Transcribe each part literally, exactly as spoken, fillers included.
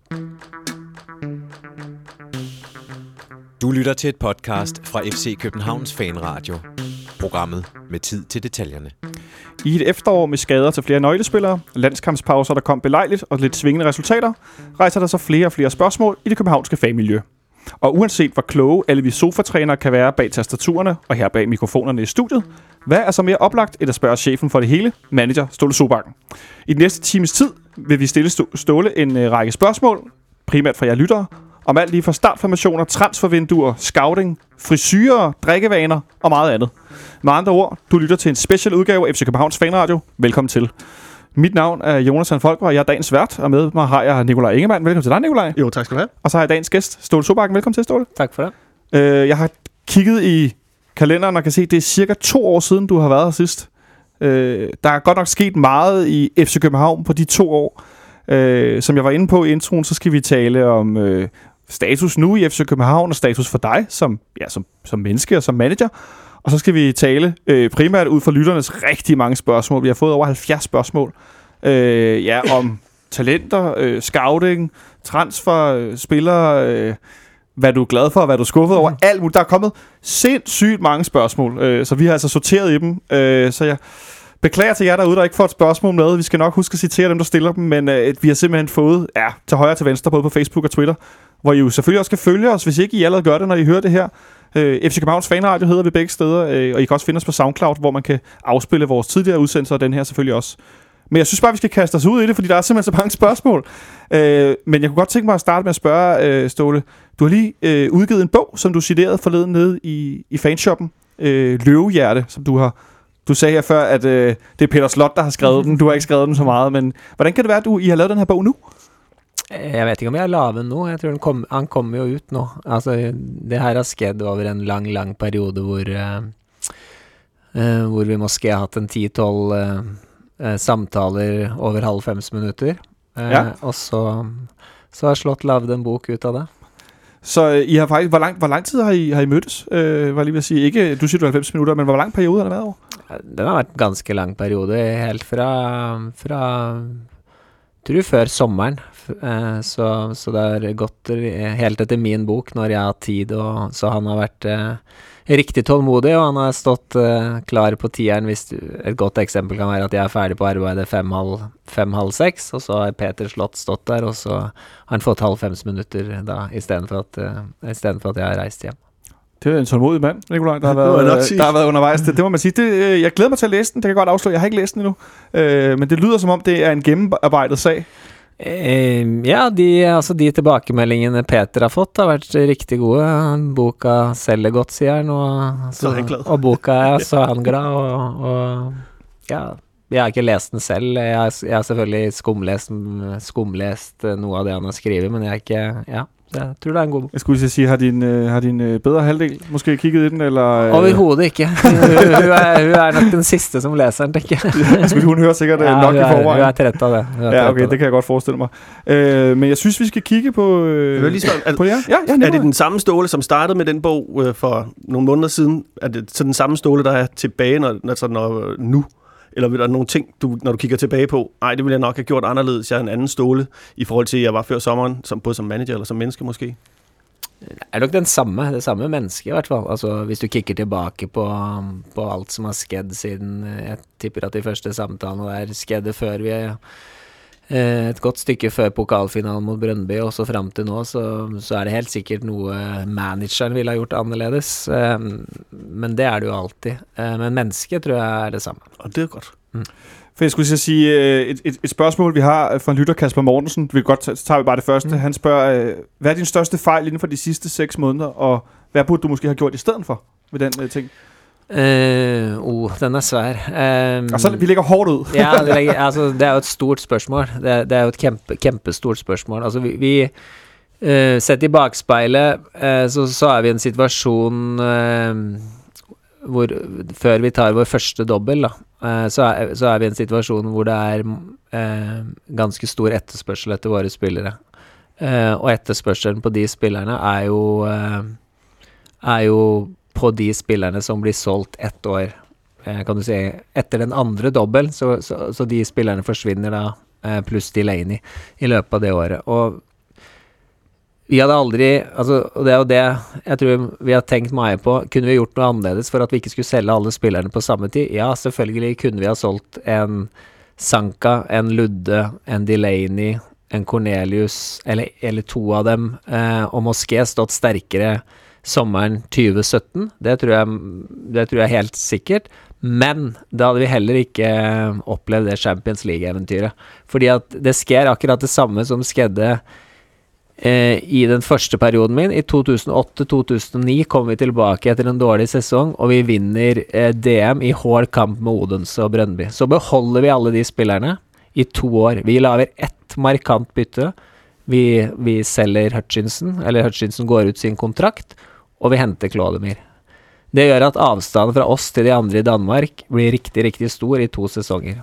Du lytter til et podcast fra F C Københavns Fanradio. Programmet med tid til detaljerne. I et efterår med skader til flere nøglespillere, landskampspauser, der kom belejligt og lidt svingende resultater, rejser der så flere og flere spørgsmål i det københavnske fagmiljø. Og uanset hvor kloge alle vi sofatrænere kan være bag tastaturerne og her bag mikrofonerne i studiet, hvad er så mere oplagt end at spørge chefen for det hele, manager Ståle Sobakken? I den næste times tid vil vi stille Ståle en øh, række spørgsmål, primært fra jer lyttere, om alt lige fra startformationer, transfervinduer, scouting, frisyrer, drikkevaner og meget andet. Med andre ord, du lytter til en special udgave af F C Københavns Fanradio. Velkommen til. Mit navn er Jonas Folker, og jeg er dagens vært, og med mig har jeg Nikolaj Ingemann. Velkommen til dig, Nikolaj. Jo, tak skal du have. Og så har jeg dagens gæst, Ståle Sobakken. Velkommen til, Ståle. Tak for det. Øh, jeg har kigget i kalenderen og kan se, at det er cirka to år siden, du har været her sidst. Øh, der er godt nok sket meget i F C København på de to år. Øh, som jeg var inde på i introen, så skal vi tale om øh, status nu i F C København, og status for dig som, ja, som, som menneske og som manager. Og så skal vi tale øh, primært ud fra lytternes rigtig mange spørgsmål. Vi har fået over halvfjerds spørgsmål øh, ja, om talenter, øh, scouting, transfer, øh, spillere, øh, hvad du er glad for, hvad du er skuffet over, alt muligt. Der er kommet sindssygt mange spørgsmål, øh, så vi har altså sorteret i dem. Øh, så jeg beklager til jer derude, der ikke får et spørgsmål med. Vi skal nok huske at citere dem, der stiller dem, men øh, vi har simpelthen fået ja, til højre og til venstre, både på Facebook og Twitter, hvor I jo selvfølgelig også kan følge os, hvis ikke I allerede gør det, når I hører det her. Øh, F C Københavns Fanradio hedder vi begge steder, øh, og I kan også finde os på SoundCloud, hvor man kan afspille vores tidligere udsendelser, og den her selvfølgelig også. Men jeg synes bare, vi skal kaste os ud i det, fordi der er simpelthen så mange spørgsmål. Øh, men jeg kunne godt tænke mig at starte med at spørge, øh, Ståle. Du har lige øh, udgivet en bog, som du citerede forleden nede i, i fanshoppen. Øh, Løvehjerte, som du har... Du sagde her før, at øh, det er Peter Slot, der har skrevet den. Du har ikke skrevet den så meget, men hvordan kan det være, at du, I har lavet den her bog nu? Jeg vet ikke om jeg har lavet den nu. Jeg tror den kom, han kommer jo ut nå. Altså, det her har skjedd over en lang, lang periode hvor, uh, uh, hvor vi måske har hatt en ti tolv uh, uh, samtaler over halvfems minutter. Uh, ja. Og så, så har Slot lavet en bok ut av det. Så uh, I har faktisk, hvor lang, hvor lang tid har I, har I mødtes? Uh, var lige ved at sige, ikke, du siger du halvfems minutter, men hvor lang periode har det været over? Den har vært en ganske lang periode, helt fra... fra tror før sommeren, eh, så, så det har gått helt etter min bok når jeg har tid, og så han har vært eh, riktig tålmodig, og han har stått eh, klar på tieren. Hvis et godt eksempel kan være at jeg er ferdig på arbeidet fem halv, fem halv seks, og så har Peter Slott stått der, og så har han fått halvfems minutter da, i stedet for at, eh, i stedet for at jeg har reist hjem. Det er en tålmodig mand, Nikolaj, der har været, der har været undervejs. Det, det må man sige. Det, jeg glæder mig til at læse den. Det kan jeg godt afsløre. Jeg har ikke læst den endnu. Øh, men det lyder som om, det er en gennemarbejdet sag. Eh, ja, de, altså de tilbakemeldingene Peter har fått har vært riktig gode. Boka selger godt, sier han, og, så, og boka er så er han glad, og, og ja, jeg har ikke læst den selv. Jeg, jeg har selvfølgelig skumlest, skumlest noe av det han har skrevet, men jeg er ikke, ja. Jeg tror det er en god bok. Jeg skulle sige, har din, øh, har din øh, bedre halvdel måske kigget i den? Eller, øh? Overhovedet ikke. hun, er, hun er nok den sidste som læser den, tenker jeg. Skulle hun hører sikkert ja, nok i forvejen? Hun er træt af det. Ja, okay, det. det kan jeg godt forestille mig. Øh, men jeg synes, vi skal kigge på, øh, jeg lige spørge, er, på det her. Ja, ja, er det den samme Ståle, som startede med den bog øh, for nogle måneder siden? Er det så den samme Ståle, der er tilbage når, når, når, nu? Eller vil der nogle ting, du, når du kigger tilbage på, nej, det ville jeg nok have gjort anderledes. Jeg er en anden Ståle i forhold til, at jeg var før sommeren, som, både som manager eller som menneske måske? Det er nok den samme, det samme menneske i hvert fall. Altså, hvis du kikker tilbake på, på alt som har skjedd siden, jeg tipper at de første samtalene der skjedde før vi er et godt stykke før pokalfinalen mot Brøndby, og så frem til nå, så, så er det helt sikkert noe manageren ville ha gjort annerledes. Men det er det jo alltid. Men mennesket tror jeg er det samme. Og det er godt. Mm. For jeg skulle sige, et, et, et spørgsmål, vi har fra en lytter, Kasper Mortensen. Vi godt, så tager vi bare det første. Mm. Han spørger, hvad er din største fejl inden for de sidste seks måneder, og hvad burde du måske have gjort i stedet for ved den uh, ting? Uh, oh, den er svær. Um, altså, vi ligger hårdt ud. ja, det, ligger, altså, det er jo et stort spørsmål. Det er, det er jo et kæmpe, kæmpestort spørsmål. Altså, vi, vi uh, sett i bakspejlet, uh, så, så er vi i en situation uh, hvor, før vi tar vår første dobbel, da, uh, så, er, så er vi i en situation hvor det er uh, ganske stor etterspørsel etter våre spillere. Uh, og etterspørselen på de spillerne er jo, uh, er jo på de spillerne som blir solgt ett år, eh, kan du si, etter den andre dobbel, så, så, så de spillerne forsvinner da, eh, pluss Delaney i løpet av det året. Og Vi hadde aldri, altså, og det er jo det jeg tror vi har tenkt mye på, kunne vi gjort noe annerledes for at vi ikke skulle selge alle spillerne på samme tid? Ja, selvfølgelig kunne vi ha solgt en Sanka, en Ludde, en Delaney, en Cornelius, eller, eller to av dem, eh, og Mosqué stått sterkere sommeren tjue sytten, det tror jeg, det tror jeg helt sikkert, men da hadde vi heller ikke opplevd det Champions League-eventyret, fordi at det skjer akkurat det samme som skedde eh, i den første perioden min. I to tusen åtte til to tusen ni kom vi tilbake etter en dårlig sesong, og vi vinner eh, D M i hård kamp med Odense og Brøndby. Så beholder vi alle de spillerne i to år. Vi laver ett markant bytte. Vi, vi selger Hutchinson, eller Hutchinson går ut sin kontrakt, og vi henter Klodemir. Det gjør at avstanden fra oss til de andre i Danmark blir riktig, riktig stor i to sesonger.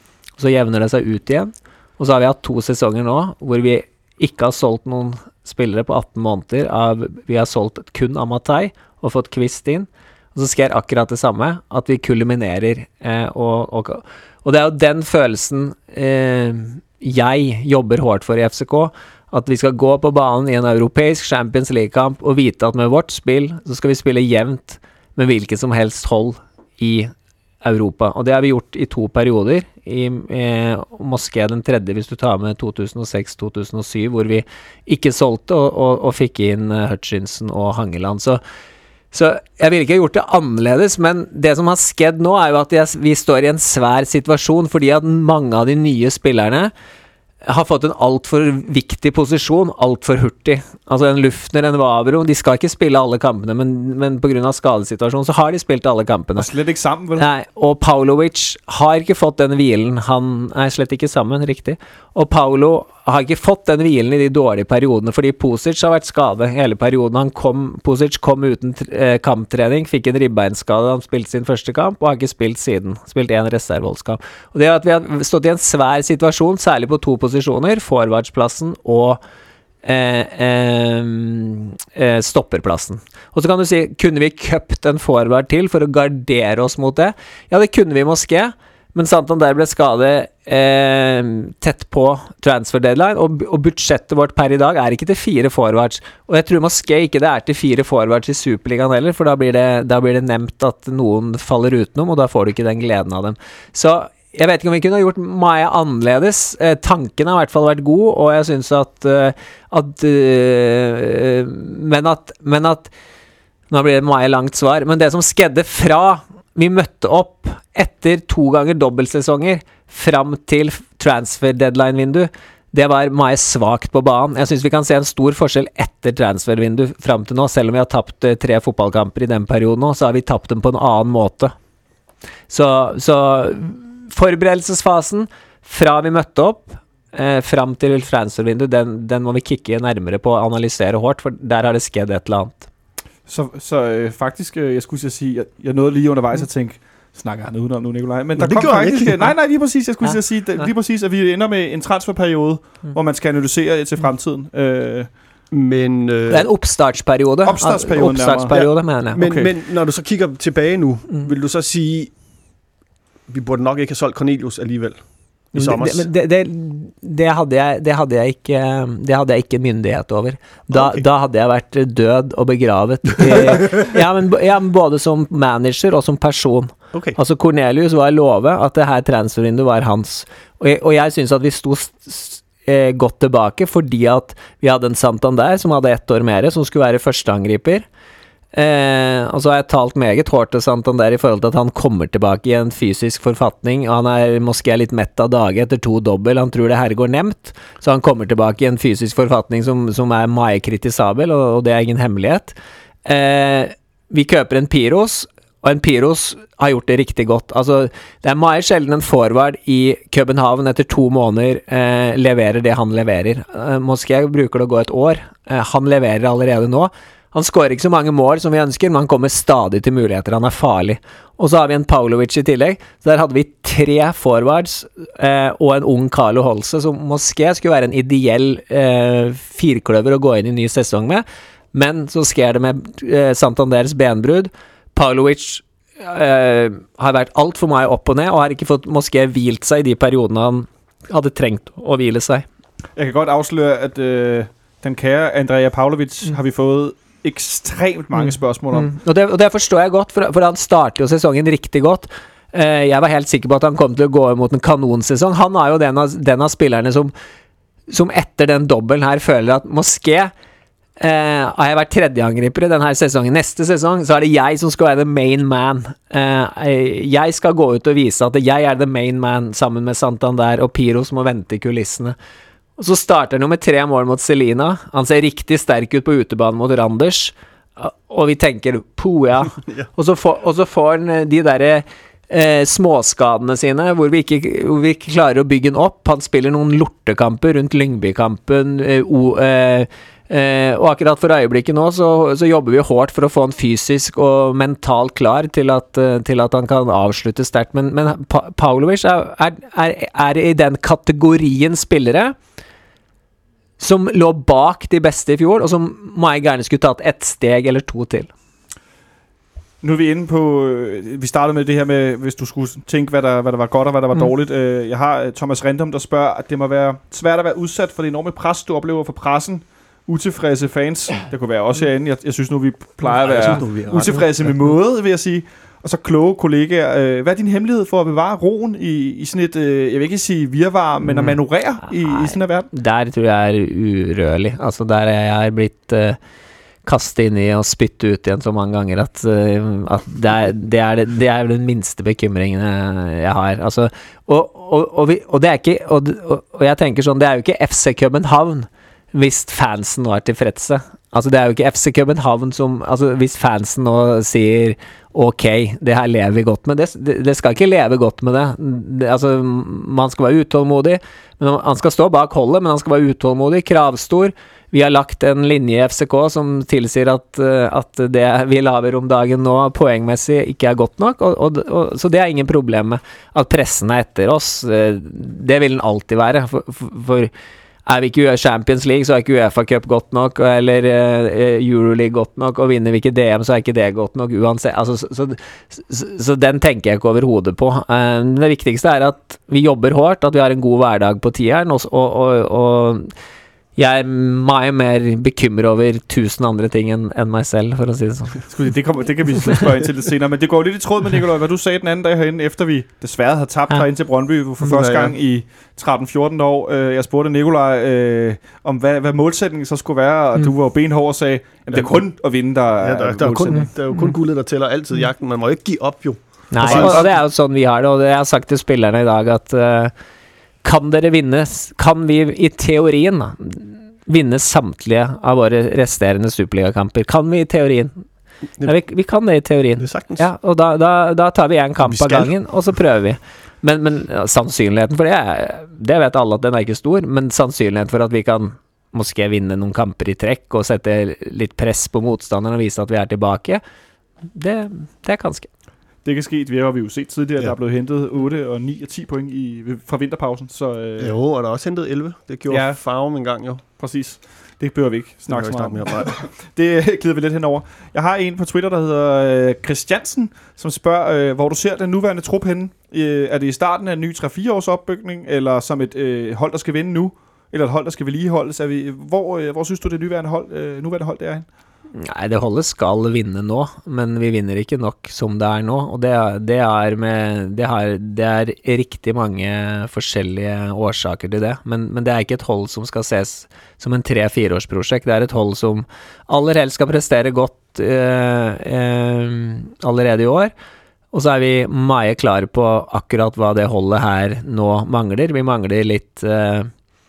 Så jevner det seg ut igjen, og så har vi hatt to sesonger nå, hvor vi ikke har solgt noen spillere på atten måneder, av, vi har solgt kun Amatei og fått Kvist inn, og så skjer akkurat det samme, at vi kulminerer, eh, og, og, og det er jo den følelsen eh, jeg jobber hårdt for i F C K, at vi skal gå på banen i en europeisk Champions League-kamp og vite at med vårt spill så skal vi spille jevnt med hvilket som helst hold i Europa. Og det har vi gjort i to perioder. I eh, Moské den tredje, hvis du tar med to tusen og seks til to tusen og syv, hvor vi ikke solgte og, og, og fikk inn uh, Hutchinson og Hangeland. Så, så jeg vil ikke ha gjort det annerledes, men det som har skjedd nå er jo at jeg, vi står i en svær situasjon, fordi at mange av de nye spillerne har fått en alt for viktig posisjon, alt for hurtig. Altså en Luftner, en Vavro, de skal ikke spille alle kampene, men, men på grunn av skadesituasjonen så har de spilt alle kampene. Og slett ikke sammen, vel? Nei, og Paulovic har ikke fått den hvilen, han er slett ikke sammen, riktig. Og Paulo har ikke fått den hvilen i de dårlige periodene, fordi Pusic har vært skadet hele perioden. Han kom, Pusic kom uten eh, kamptrening, fikk en ribbeinskade, han spilte sin første kamp, og har ikke spilt siden. Spilt en reserveholdskamp. Og det er at vi har stått i en svær situasjon, særlig på to posisjoner, forwardsplassen og eh, eh, eh, stopperplassen. Og så kan du si, kunne vi køpt en forward til for å gardere oss mot det? Ja, det kunne vi måske, men Santander ble skadet eh, tett på transfer deadline, og, og budsjettet vårt per i dag er ikke til fire forwards. Og jeg tror måske ikke det er til fire forwards i Superligaen heller, for da blir, det, da blir det nevnt at noen faller utenom, og da får du ikke den gleden av dem. Så jeg vet ikke om vi kunne ha gjort mye annerledes. Eh, tanken har i hvert fall vært god, og jeg synes at, uh, at uh, men at men at nå blir det mye langt svar, men det som skedde fra vi møtte opp etter to ganger dobbeltsesonger fram til transfer deadline-vindu, det var mye svagt på banen. Jeg synes vi kan se en stor forskjell etter transfervindu fram til nå, selv om vi har tapt uh, tre fotballkamper i den perioden nå, så har vi tapt dem på en annen måte. Så, så forberedelsesfasen fra vi møtte opp eh, fram til transfervindu, den, den må vi kikke nærmere på og analysere hårdt, for der har det skjedd et eller annet. Så, så øh, faktisk, øh, jeg skulle sige, jeg, jeg nåede lige undervejs at tænke, snakker han udenom nu, Nikolaj? Men der det kom faktisk, ikke. nej, nej, lige præcis, jeg skulle Ja. sige, lige Ja. præcis, at vi ender med en transferperiode, Mm. hvor man skal analysere til fremtiden. Øh, Men, øh, Det er en oppstartsperiode. Oppstartsperiode, Oppstartsperiode, mener jeg. men, Okay. men når du så kigger tilbage nu, Mm. vil du så sige, vi burde nok ikke have solgt Cornelius alligevel i sommer? Det, det, det, det, hadde jeg, det, hadde jeg ikke, det hadde jeg ikke myndighet over. Da, Ok. da hadde jeg vært død og begravet. I, ja, men, ja, men både som manager og som person. Okay. Altså Cornelius var love at det her transfervinduet var hans. Og jeg, og jeg synes at vi sto s- s- eh, godt tilbake, fordi at vi hadde en Santander som hadde ett år mer, som skulle være førsteangriper. Eh, og så har jeg talt meget hårdt til Santander i forhold til at han kommer tilbake i en fysisk forfatning, og han er måske litt mett av dage etter to dobbel, han tror det her går nemt, så han kommer tilbake i en fysisk forfatning som, som er meget kritisabel, og, og det er ingen hemmelighet. Eh, vi køper en Piros, og en Piros har gjort det riktig godt. Altså, det er meget sjelden en forward i København etter to måneder eh, leverer det han leverer. Eh, måske bruker det å gå et år. Eh, han leverer allerede nå. Han skårer ikke så mange mål som vi ønsker, men han kommer stadig til muligheter. Han er farlig. Og så har vi en Paulovic i tillegg. Så der hadde vi tre forwards eh, og en ung Carlo Holse, som måske skulle være en ideell eh, firkløver å gå inn i ny sesong med. Men så sker det med eh, Santanders benbrudd. Paulovic eh, har vært alt for mye opp og ned, og har ikke fått måske hvilt seg i de periodene han hadde trengt å hvile seg. jeg kan godt afsløre, at øh, den kære Andrea Pavlovic mm. har vi fået ekstremt mange mm. spørgsmål om. Mm. Og, det, og det forstår jeg godt, for, for han starter jo sesongen riktig godt. Uh, jeg var helt sikker på at han kom til å gå mot en kanonsesong. Han er jo den av, den av spillerne som, som etter den dobbelen her føler at Moské Uh, har jeg vært tredjeangriper i denne sesongen. Neste sesong så er det jeg som skal være the main man. Uh, jeg skal gå ut og vise at jeg er the main man sammen med Santander og Piro som må vente i kulissene. Og så starter han jo med tre mål mot Celina. Han ser riktig sterk ut på utebanen mot Randers. Uh, og vi tenker, po ja. Og så får, og så får han de der uh, småskadene sine, hvor vi, ikke, hvor vi ikke klarer å bygge han opp. Han spiller noen lortekamper rundt Lyngby-kampen. Uh, o, uh, Eh, og akkurat for øyeblikket nå så, så jobber vi hårdt for å få han fysisk og mentalt klar til at, til at han kan avslutte sterkt, men, men pa Pavlovic er, er, er, er i den kategorien spillere som lå bak de beste i fjor, og som må jeg gerne skulle tatt et steg eller to til. Nu er vi inde på, vi startede med det her med, hvis du skulle tænke, hvad der, hvad der var godt og hvad der var mm. dårligt. Jeg har Thomas Rindum, der spørger, at det må være svært at være udsat for det enorme pres, du oplever fra pressen, utilfredse fans. Det kunne være også herinde. Jeg, jeg synes nu, vi plejer at være synes, nu, vi utilfredse med måde, vil jeg sige. Og så kloge kollegaer. Hvad er din hemmelighed for at bevare roen i, i sådan et, jeg vil ikke sige virvar, men at manøvrere i, i sådan en verden? Der tror jeg er urørlig. Altså, der er jeg blitt uh, kastet inn i og spyttet ut igjen så mange ganger at, uh, at det, er, det, er det, det er den minste bekymringen jeg har. Altså, og, og, og, vi, og det er ikke, og, og, og jeg tenker sånn, det er jo ikke F C København hvis fansen nå er tilfredse. Altså det er jo ikke F C København som, altså hvis fansen nå sier ok, det her lever vi godt med, det, det, det skal ikke leve godt med det. det. Altså man skal være utålmodig, men han skal stå bak holdet, men han skal være utålmodig, kravstor. Vi har lagt en linje i F C K som tilsier at, at det vi laver om dagen nå poengmessig ikke er godt nok, og, og, og, så det er ingen problem med at pressen er etter oss. Det vil den alltid være, for, for, for er vi ikke Champions League, så er ikke UEFA Cup godt nok, eller uh, Euroleague godt nok, og vinner vi ikke D M, så er ikke det godt nok uansett. Altså, så, så, så, så den tenker jeg ikke over hodet på. Uh, det viktigste er at vi jobber hårdt, at vi har en god hverdag på tieren, og, og, og, og jeg er mye mer bekymret over tusen andre ting enn en meg selv, for å si det sånn. Det, kommer, det kan vi spørge ind til lidt senere, men det går lidt i tråd med, Nikolaj, hvad du sagde den anden dag herinde, efter vi desværre havde tabt ja. herinde til Brøndby for første gang i tretten fjorten år. Jeg spurgte Nikolaj øh, om, hvad, hvad målsætningen så skulle være, og mm. du var jo benhård og sagde, at det er kun at vinde, der ja, der, er der, er kun, der er jo kun mm. guldet, der tæller altid jagten. Man må ikke give op, jo. Nej, og, og det er jo sådan, vi har det, og det jeg har sagt til spillerne i dag, at uh, kan dere vinne, kan vi i teorien da, vinne samtlige av våre resterende Superliga-kamper. Kan vi i teorien? Ja, vi, vi kan det i teorien. Det er sagtens. Ja, og da, da, da tar vi en kamp av gangen, og så prøver vi. Men, men ja, sannsynligheten for det, er, det vet alle at den er ikke stor, men sannsynligheten for at vi kan måske vinne noen kamper i trekk og sette litt press på motstanderen og vise at vi er tilbake, det, det er ganske. Det kan ske, vi har vi jo set tidligere, at ja. der er blevet hentet otte og ni og ti point i, fra vinterpausen. Så, øh, jo, og der er også hentet elleve. Det gjorde ja. Farum en gang jo. Præcis. Det behøver vi ikke snakke så meget om. Det glider vi lidt henover. Jeg har en på Twitter, der hedder øh, Christiansen, som spørger, øh, hvor du ser den nuværende trup henne. Øh, er det i starten af en ny tre fire års opbygning, eller som et øh, hold, der skal vinde nu, eller et hold, der skal vedligeholdes? Er vi, hvor, øh, hvor synes du, det nuværende hold, øh, nuværende hold det er henne? Nei, det holdet skal vinne nå, men vi vinner ikke nok som det er nå, og det, det, er, med, det, har, det er riktig mange forskjellige årsaker til det, men, men det er ikke et hold som skal ses som en tre-fireårsprosjekt, det er et hold som aller helst skal prestere godt eh, eh, allerede i år, og så er vi mye klare på akkurat hva det holdet her nå mangler. Vi mangler litt... Eh,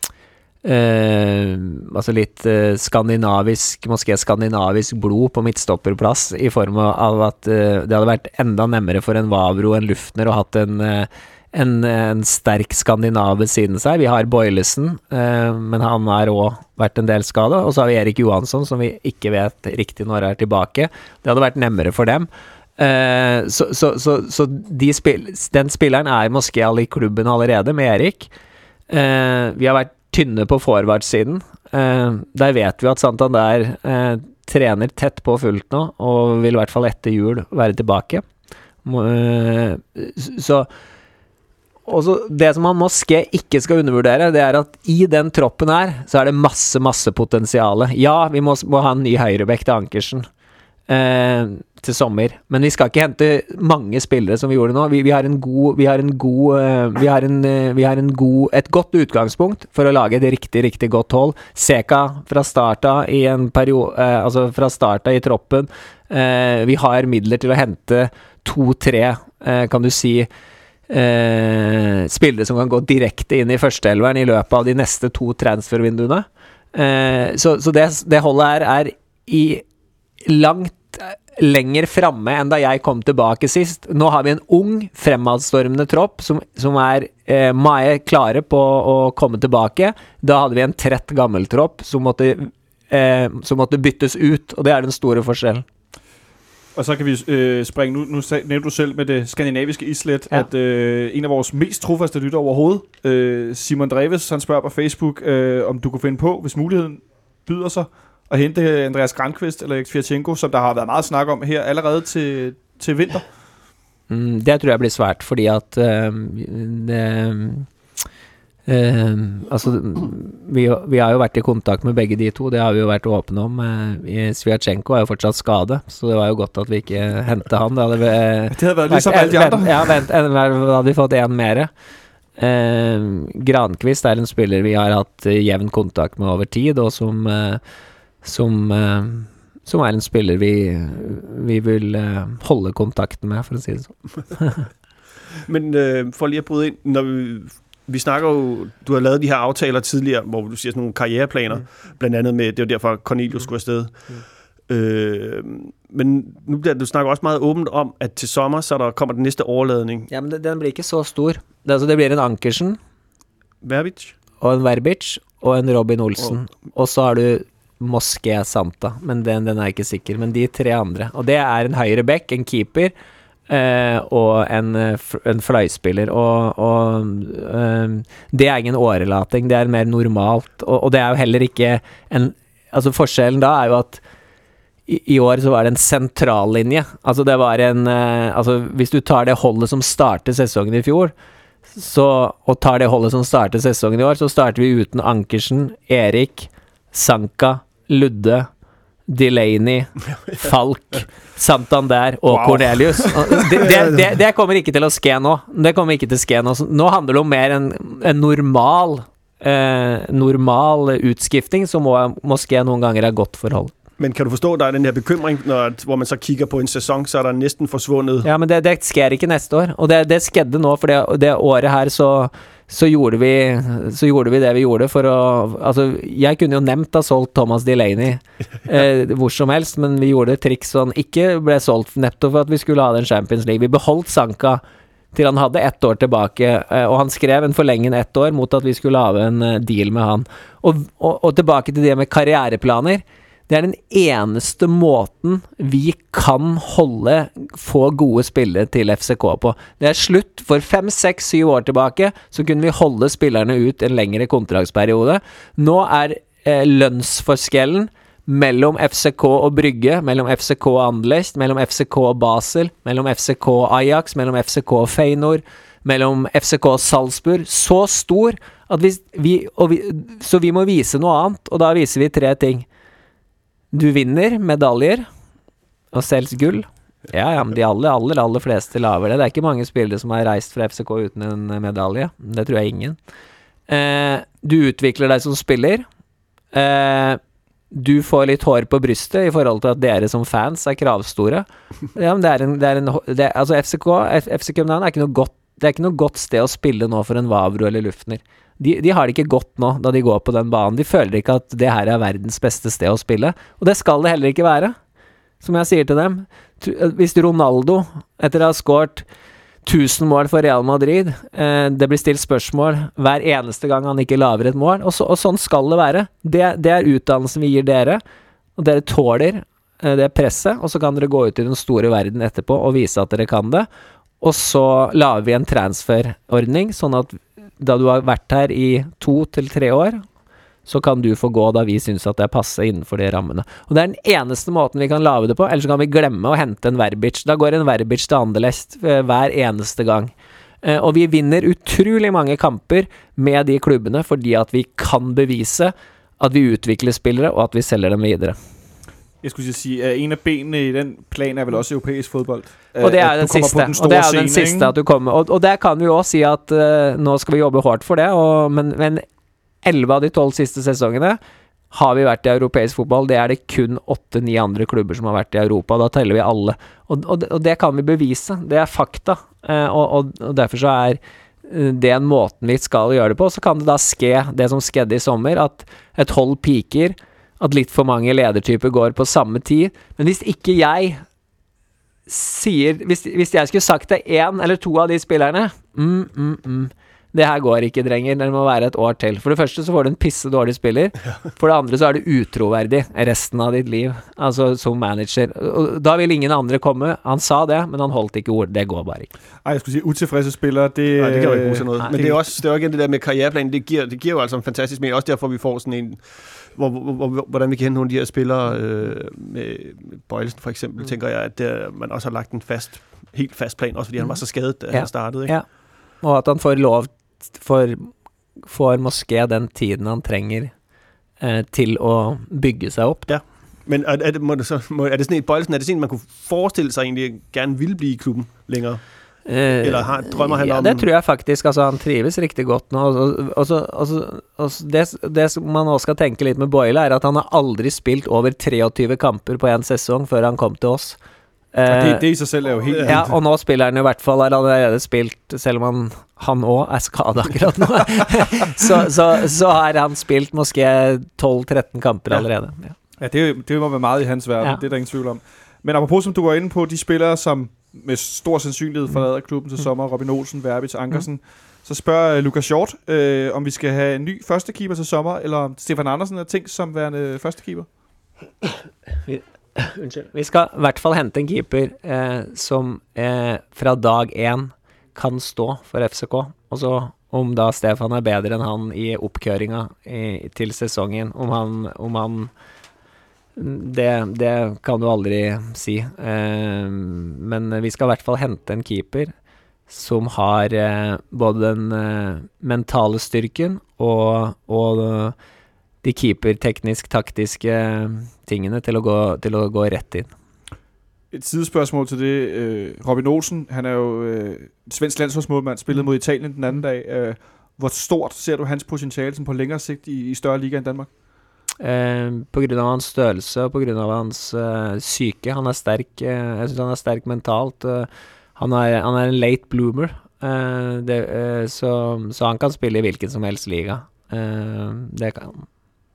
Uh, altså litt uh, skandinavisk, måske skandinavisk blod på midtstopperplass i form av at uh, det hadde vært enda nemmere for en Vavro, en Luftner og hatt en, uh, en, en sterk skandinav ved siden seg. Vi har Boilesen, uh, men han har også vært en del skadet, og så har vi Erik Johansson som vi ikke vet riktig når er tilbake. Det hadde vært nemmere for dem. Uh, så så, så, så de spill, den spilleren er måske alle i klubben allerede med Erik. Uh, vi har vært tynne på forwardssiden. Uh, der vet vi at Santander uh, trener tett på fullt nå, og vil i hvert fall etter jul være tilbake. Uh, så og så det som man Moské ikke skal undervurdere, det er at i den troppen her, så er det masse, masse potensiale. Ja, vi må, må ha en ny høyrebekk til Ankersen eh, til sommer, men vi skal ikke hente mange spillere som vi gjorde nå. Vi, vi har en god, vi har en god, uh, vi har en, uh, vi har en god, et godt utgangspunkt for å lage et riktig, riktig godt hold. Seka fra starta i en periode, uh, altså fra starta i troppen. Uh, vi har midler til å hente to-tre, uh, kan du si, uh, spillere som kan gå direkte inn i førsteelveren i løpet av de neste to transfervinduene. Uh, så så det, det holdet her er i langt lenger framme enn da jeg kom tilbake sist. Nå har vi en ung, fremadstormende tropp som, som er eh, mye klare på å komme tilbake. Da hadde vi en trett gammel tropp som måtte, eh, som måtte byttes ut, og det er den store forskjellen. Og så kan vi øh, springe, nu, nu nævnte du selv med det skandinaviske islet, ja. At øh, en af vores mest trofaste lytter overhovedet, øh, Simon Dreves, han spørger på Facebook, øh, om du kunne finde på, hvis muligheden byder sig, at hente Andreas Granqvist eller Alex Fiatchenko, som der har været meget snak om her allerede til, til vinter? Mm, det tror jeg blir svært, fordi at uh, det, uh, altså, vi, vi har jo vært i kontakt med begge de to, det har vi jo vært åpne om. Uh, Sviatchenko er jo fortsatt skade, så det var jo godt at vi ikke hentet han. Det hadde, uh, det hadde vært liksom alle de andre. Ja, vent, da hadde vi fått en mere. Uh, Granqvist er en spiller vi har hatt uh, jevn kontakt med over tid, og som... Uh, Som, uh, som er en spiller vi, vi vil uh, holde kontakten med, for å si det sånn. Men uh, for lige at bryde ind, når vi, vi snakker jo, du har lavet de her aftaler tidligere, hvor du siger sådan nogle karriereplaner, mm. blandt andet med, det var derfor Cornelius mm. skulle afsted. Mm. Øh, men nu bliver du snakker også meget åbent om, at til sommer, så der kommer den næste overladning. Ja, men det, den blir ikke så stor. Det, altså, det blir en Ankersen. Verbic. Og en Verbic, og en Robin Olsen. Oh. Og så har du Moské Santa, men den, den er ikke sikker, men de tre andre, og det er en høyre back, en keeper eh, og en, en fløyspiller, og, og eh, det er ingen årelating, det er mer normalt, og, og det er jo heller ikke en, altså forskjellen da er jo at i, i år så var det en sentrallinje, altså det var en eh, altså hvis du tar det holdet som startet sesongen i fjor, så, og tar det holdet som startet sesongen i år, så starter vi uten Ankersen, Erik, Sanka, Ludde, Delaney, Falk, Santander og wow. Cornelius. Det, det, det, det kommer ikke til å ske nå. Det kommer ikke til å ske nå. Nå handler det om mer en, en normal, eh, normal utskifting som må, måske noen ganger er godt forhold. Men kan du forstå, der er den her bekymring, når, hvor man så kigger på en sæson, så er der næsten forsvundet? Ja, men det, det sker ikke neste år. Og det, det skedde nå, for det, det året her så... Så gjorde, vi, så gjorde vi det vi gjorde for å... Altså, jeg kunne jo nevnt ha solgt Thomas Delaney eh, hvor som helst, men vi gjorde triks så han ikke ble solgt nettopp for at vi skulle ha den Champions League. Vi beholdt Sanka til han hadde ett år tilbake, eh, og han skrev en forlengen ett år mot at vi skulle lave en uh, deal med han. Og, og, og tilbake til det med karriereplaner. Det er den eneste måten vi kan holde, få gode spillere til F C K på. Det er slutt. For fem, seks, syv år tilbake så kunne vi holde spillerne ut en lengre kontraktsperiode. Nå er eh, lønnsforskjellen mellom F C K og Brygge, mellom F C K og Anderlecht, mellom F C K og Basel, mellom F C K og Ajax, mellom F C K og Feyenoord, mellom F C K og Salzburg, så stor at vi, vi, og vi, så vi må vise noe annet, og da viser vi tre ting. Du vinner medaljer og selger gull. Ja, ja, men de aller, aller, aller fleste laver det. Det er ikke mange spillere som har reist fra F C K uten en medalje. Det tror jeg ingen. Eh, du utvikler deg som spiller. Eh, du får litt hår på brystet i forhold til at dere som fans er kravstore. Ja, men det er en... Det er en det, altså F C K, F C København er ikke noe godt, det er ikke noe godt sted å spille nå for en Vavro eller Luftner. De, de har det ikke godt nå da de går på den banen. De føler ikke at det her er verdens beste sted å spille. Og det skal det heller ikke være. Som jeg sier til dem, hvis Ronaldo, etter å ha skåret tusen mål for Real Madrid, eh, det blir stilt spørsmål hver eneste gang han ikke laver et mål, og, så, og sånn skal det være. Det, det er utdannelsen vi gir dere, og dere tåler eh, det presset, og så kan dere gå ut i den store verden etterpå og vise at dere kan det. Og så laver vi en transferordning, sånn at da du har vært her i to til tre år, så kan du få gå da vi synes at det er passe innenfor de rammene. Og det er den eneste måten vi kan lave det på, ellers kan vi glemme å hente en Verbic. Da går en Verbic til Anderlecht hver eneste gang. Eh, og vi vinner utrolig mange kamper med de klubbene fordi at vi kan bevise at vi utvikler spillere og at vi selger dem videre. Jeg skulle sige, at en af benene i den plan er vel også europæisk fodbold. Og det er den siste, den og det er den scene, siste at du kommer. Og, og der kan vi jo også si at uh, nå skal vi jobbe hårdt for det, og, men, men elleve av de tolv siste sesongene har vi vært i europeisk fotball. Det er det kun åtte ni andre klubber som har vært i Europa, da teller vi alle. Og, og, og det kan vi bevise, det er fakta, uh, og, og, og derfor så er uh, det en måten vi skal gjøre det på. Så kan det da ske det som skedde i sommer, at et hold piker, at litt for mange ledertyper går på samme tid. Men hvis ikke jeg sier, hvis, hvis jeg skulle sagt det en eller to av de spillerne, mm, mm, mm, det her går ikke, drenger, det må være et år til. For det første så får du en pisse dårlig spiller, for det andre så er du utroverdig resten av ditt liv, altså som manager. Og da vil ingen andre komme, han sa det, men han holdt ikke ord, det går bare ikke. Ej, jeg skulle sige, utilfredse spillere, det... Nej, det kan jo ikke bruge til noget. Nej, men det, det er også, det er jo igen det der med karriereplanen, det giver, det giver jo altså en fantastisk mening, også derfor vi får sådan en... Hvor, hvor, hvor, hvordan vi kan hente nogle af de her spillere øh, med Bøjlesen for eksempel, mm. tænker jeg, at der, man også har lagt en fast, helt fast plan, også fordi mm. han var så skadet, da ja. han startede. Ikke? Ja, og at han får lov, for, får måske den tiden han trenger eh, til å bygge sig op. Ja, men er, er, det, må det så, må, er det sådan et Bøjlesen, er det sådan, man kunne forestille sig egentlig, gerne ville blive i klubben længere? Uh, Eller har, drømmer han ja, om... det tror jeg faktisk, altså han trives riktig godt nå, og, og, så, og, så, og så, det, det som man også skal tenke litt med Boyle er at han har aldri spilt over treogtyve kamper på en sesong før han kom til oss. Uh, det, det i sig selv er jo helt... Ja, og nå spiller han i hvert fall, han har allerede spilt, selv om han, han også er skadet akkurat nå, så, så, så har han spilt måske tolv tretten kamper allerede. Ja, ja det, det må være meget i hans verden, ja. Det er der ingen tvivl om. Men apropos, som du var inde på, de spillere, som med stor sandsynlighed forlader klubben til sommer, Robin Olsen, Verbitz, Ankersen, mm. så spørger uh, Lukas Hjort, øh, om vi skal have en ny førstekeeper til sommer, eller om Stefan Andersen er tænkt som værende førstekeeper? Vi, unnskyld. Vi skal i hvert fall hente en keeper eh, som eh, fra dag én kan stå for F C K, og så om da Stefan er bedre enn han i oppkøringa i, til sesongen, om han, om han Det, det kan du aldri si, eh, men vi skal i hvert fall hente en keeper som har eh, både den eh, mentale styrken og, og de keeper-teknisk-taktiske tingene til å, gå, til å gå rett inn. Et sidespørgsmål til det. Øh, Robin Olsen, han er jo øh, svensk landsholdsmålmand, spillet mod Italien den anden dag. Øh, hvor stort ser du hans potentiale som på længere sigt i, i større liga enn Danmark? Eh, på grunn av hans størrelse og på grunn av hans eh, syke. Han er sterk, eh, jeg synes han er sterk mentalt. Eh, han, er, han er en late bloomer, eh, det, eh, så, så han kan spille i hvilken som helst liga. Eh, det kan han.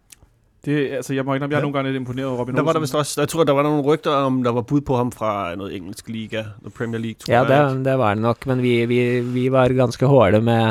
Det, altså, jeg må ikke, jeg er ja. nogle gange lidt imponeret over Robin der Olsen. Var der, vist også, jeg tror, der var nogle rygter om, der var bud på ham fra noget engelsk liga, the Premier League, tror ja, jeg. Ja, det, det var det nok, men vi, vi, vi var ganske hårde med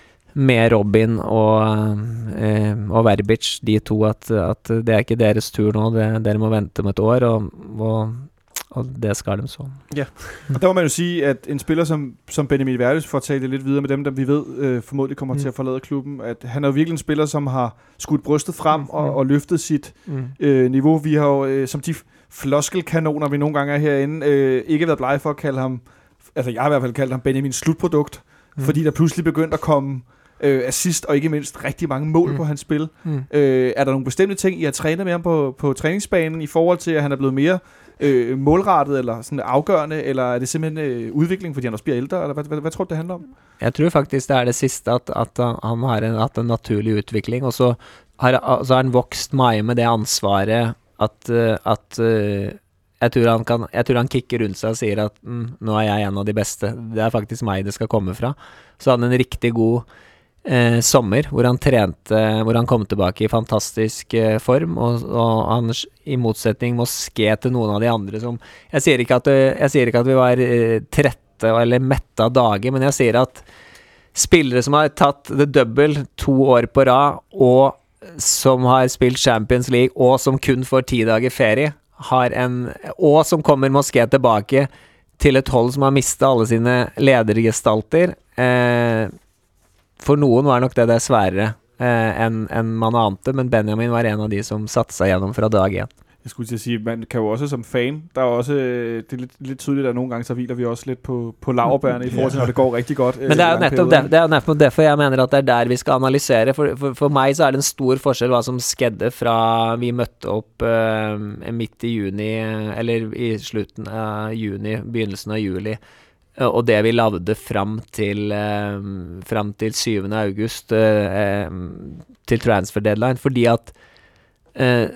med Robin og, eh, og Verbitz, de to, at, at det er ikke deres tur nå, det, dere må vente om et år, og, og, og det skal de så. Ja, og der må man jo sige, at en spiller som, som Benjamin Verbitz, for at tale lidt videre med dem, der vi ved øh, formodentlig kommer mm. til at forlade klubben, at han er jo virkelig en spiller, som har skudt brystet frem mm. og, og løftet sit mm. øh, niveau. Vi har jo, øh, som de floskelkanoner, vi nogle gange er herinde, øh, ikke været blege for at kalde ham, altså jeg har i hvert fald kaldt ham Benjamins slutprodukt, mm. fordi der pludselig begyndte at komme Øh, assist og ikke mindst rigtig mange mål mm. på hans spil. Mm. Øh, er der nogle bestemte ting, I har trænet med ham på, på træningsbanen i forhold til, at han er blevet mere øh, målrettet eller sådan afgørende, eller er det simpelthen øh, udvikling, fordi han også bliver ældre, eller hvad, hvad, hvad tror du, det handler om? Jeg tror faktisk, det er det sidste, at, at han har en, at en naturlig udvikling, og så har, så har han vokst meget med det ansvaret, at, at uh, jeg tror han kan, jeg tror han kikker rundt sig og siger, at mm, nå er jeg en av de beste, det er faktisk mig, det skal komme fra. Så han en riktig god Eh, sommer, hvor han trente, hvor han kom tilbake i fantastisk eh, form, og, og han i motsetning måske til noen av de andre som, jeg sier ikke at, jeg sier ikke at vi var eh, trette eller mette av dager, men jeg sier at spillere som har tatt det double to år på rad, og som har spilt Champions League, og som kun får ti dager ferie, har en, og som kommer måske tilbake til et hold som har mistet alle sine ledergestalter, eh, for noen var nok det det sværere eh, enn en man ante, men Benjamin var en av de som satte seg gjennom fra dag én. Jeg skulle til at sige, man kan jo også som fan, der er også, det er lidt, lidt tydeligt, at nogle gange så hviler vi også lidt på, på laurbærene i forhold til, når det går rigtig godt. Men det er jo nettopp, der, det er jo nettopp derfor jeg mener at det er der vi skal analysere. For, for, for meg så er det en stor forskjell hva som skedde fra vi møtte opp uh, midt i juni, eller i slutten av juni, begynnelsen av juli, uh, og det vi lavde fram til, uh, fram til syvende august, uh, um, til transfer deadline, fordi at uh,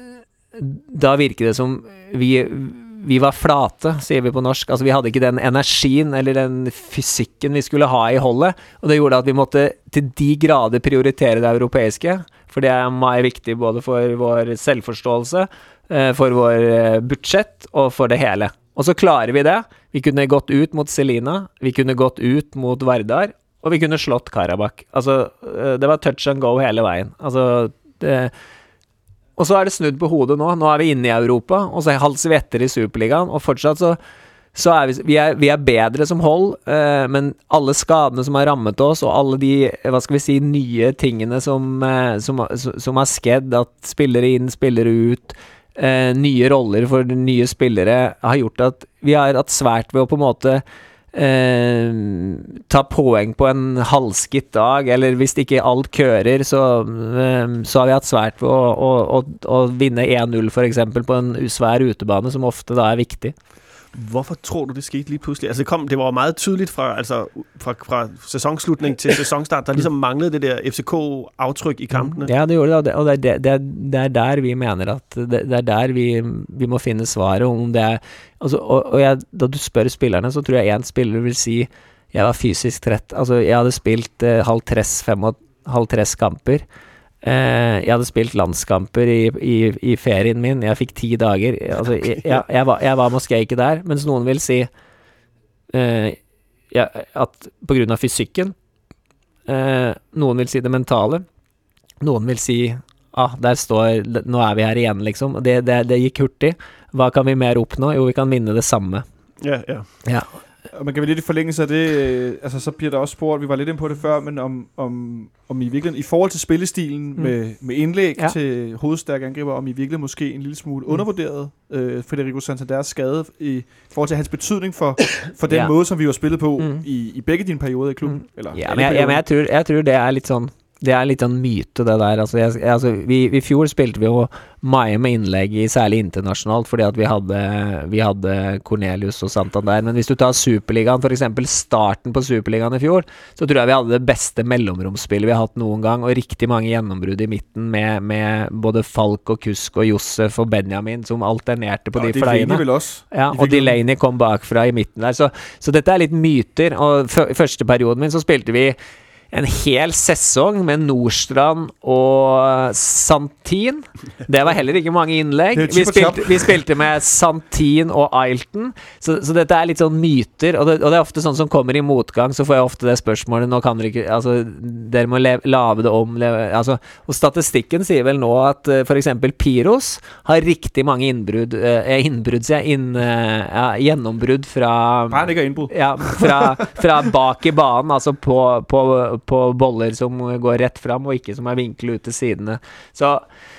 da virker det som vi, vi var flate, sier vi på norsk. Altså vi hadde ikke den energien eller den fysikken vi skulle ha i holdet, og det gjorde at vi måtte til de grader prioritere det europeiske, for det er meg viktig både for vår selvforståelse, for vår budsjett og for det hele. Og så klarer vi det. Vi kunne gått ut mot Selina, vi kunne gått ut mot Vardar, og vi kunne slått Karabakh. Altså, det var touch and go hele veien. Altså, det... Og så er det snudd på hodet nå. Nå er vi inne i Europa, og så halser vi etter i Superligaen, og fortsatt så, så er vi, vi, er, vi er bedre som hold, eh, men alle skadene som har rammet oss, og alle de, hva skal vi si, nye tingene som, eh, som, som har skjedd, at spillere inn, spillere ut, eh, nye roller for nye spillere, har gjort at vi har hatt svært ved å på en måte Eh, ta poeng på en halvskitt dag, eller hvis ikke alt kører, så, eh, så har vi hatt svært ved å, å, å, å vinne en null for eksempel på en svær utebane, som ofte da er viktig. Hvorfor tror du, det skete lige pludselig? Altså det, kom, det var jo meget tydeligt fra, altså, fra, fra sæsonslutning til sæsonstart, der ligesom manglede det der F C K-aftryk i kampene. Ja, det gjorde det, og det, det, det, det er der vi mener at det, det er der vi, vi må finne svaret om det er, altså, og, og jeg, da du spør spillerne, så tror jeg en spiller vil si jeg var fysisk trett, altså jeg hadde spilt eh, halv tres, fem og halv tres kamper. Uh, jeg hadde spilt landskamper i, i, i ferien min. Jeg fikk ti dager. Altså, jeg, jeg, jeg, var, jeg var måske ikke der, mens noen vil si uh, ja, at på grunn av fysikken, uh, noen vil si det mentale, noen vil si ah, der står, nå er vi her igjen liksom. Det, det, det gikk hurtig. Hva kan vi mer oppnå? Jo, vi kan vinne det samme. Ja, ja. Ja. Og man kan vel lidt i forlængelse af det, øh, altså så bliver der også spurgt, vi var lidt inde på det før, men om, om, om i virkeligheden, i forhold til spillestilen mm. med, med indlæg ja. til hovedstærke angriber, om i virkeligheden måske en lille smule mm. undervurderet øh, Federico Santanders skade i forhold til hans betydning for, for den ja. måde, som vi har spillet på mm. i, i begge dine perioder i klubben. Mm. Eller, ja, men jeg, jeg, men jeg, tror, jeg tror det er litt sånn det er litt en myte det der, altså, jeg, altså vi, i fjor spilte vi jo mye med innlegg i særlig internasjonalt, fordi at vi hadde, vi hadde Cornelius og Santander, men hvis du tar Superligaen, for eksempel starten på Superligaen i fjor, så tror jeg vi hadde det beste mellomromspillet vi har hatt noen gang, og riktig mange gjennombrudd i midten med, med både Falk og Kusk og Josef og Benjamin som alternerte på ja, de fløyene. Ja, og Delaney kom bakfra i midten der, så, så dette er litt myter, og f- første perioden min så spilte vi en hel sesong med Nordstrand og Santin. Det var heller ikke mange innlegg. Vi spilte, vi spilte med Santin og Ailton. Så, så dette er litt sånn myter, og det, og det er ofte sånn som kommer i motgang, så får jeg ofte det spørsmålet, nå kan dere ikke, altså, dere må le, lave det om, leve, altså, og statistikken sier vel nå at uh, for eksempel Piros har riktig mange innbrudd, uh, innbrudd, sier jeg, inn, uh, ja, gjennombrudd fra, ja, fra, fra bak i banen, altså på, på på boller som går rett fram og ikke som er vinkel ut til sidene. Så,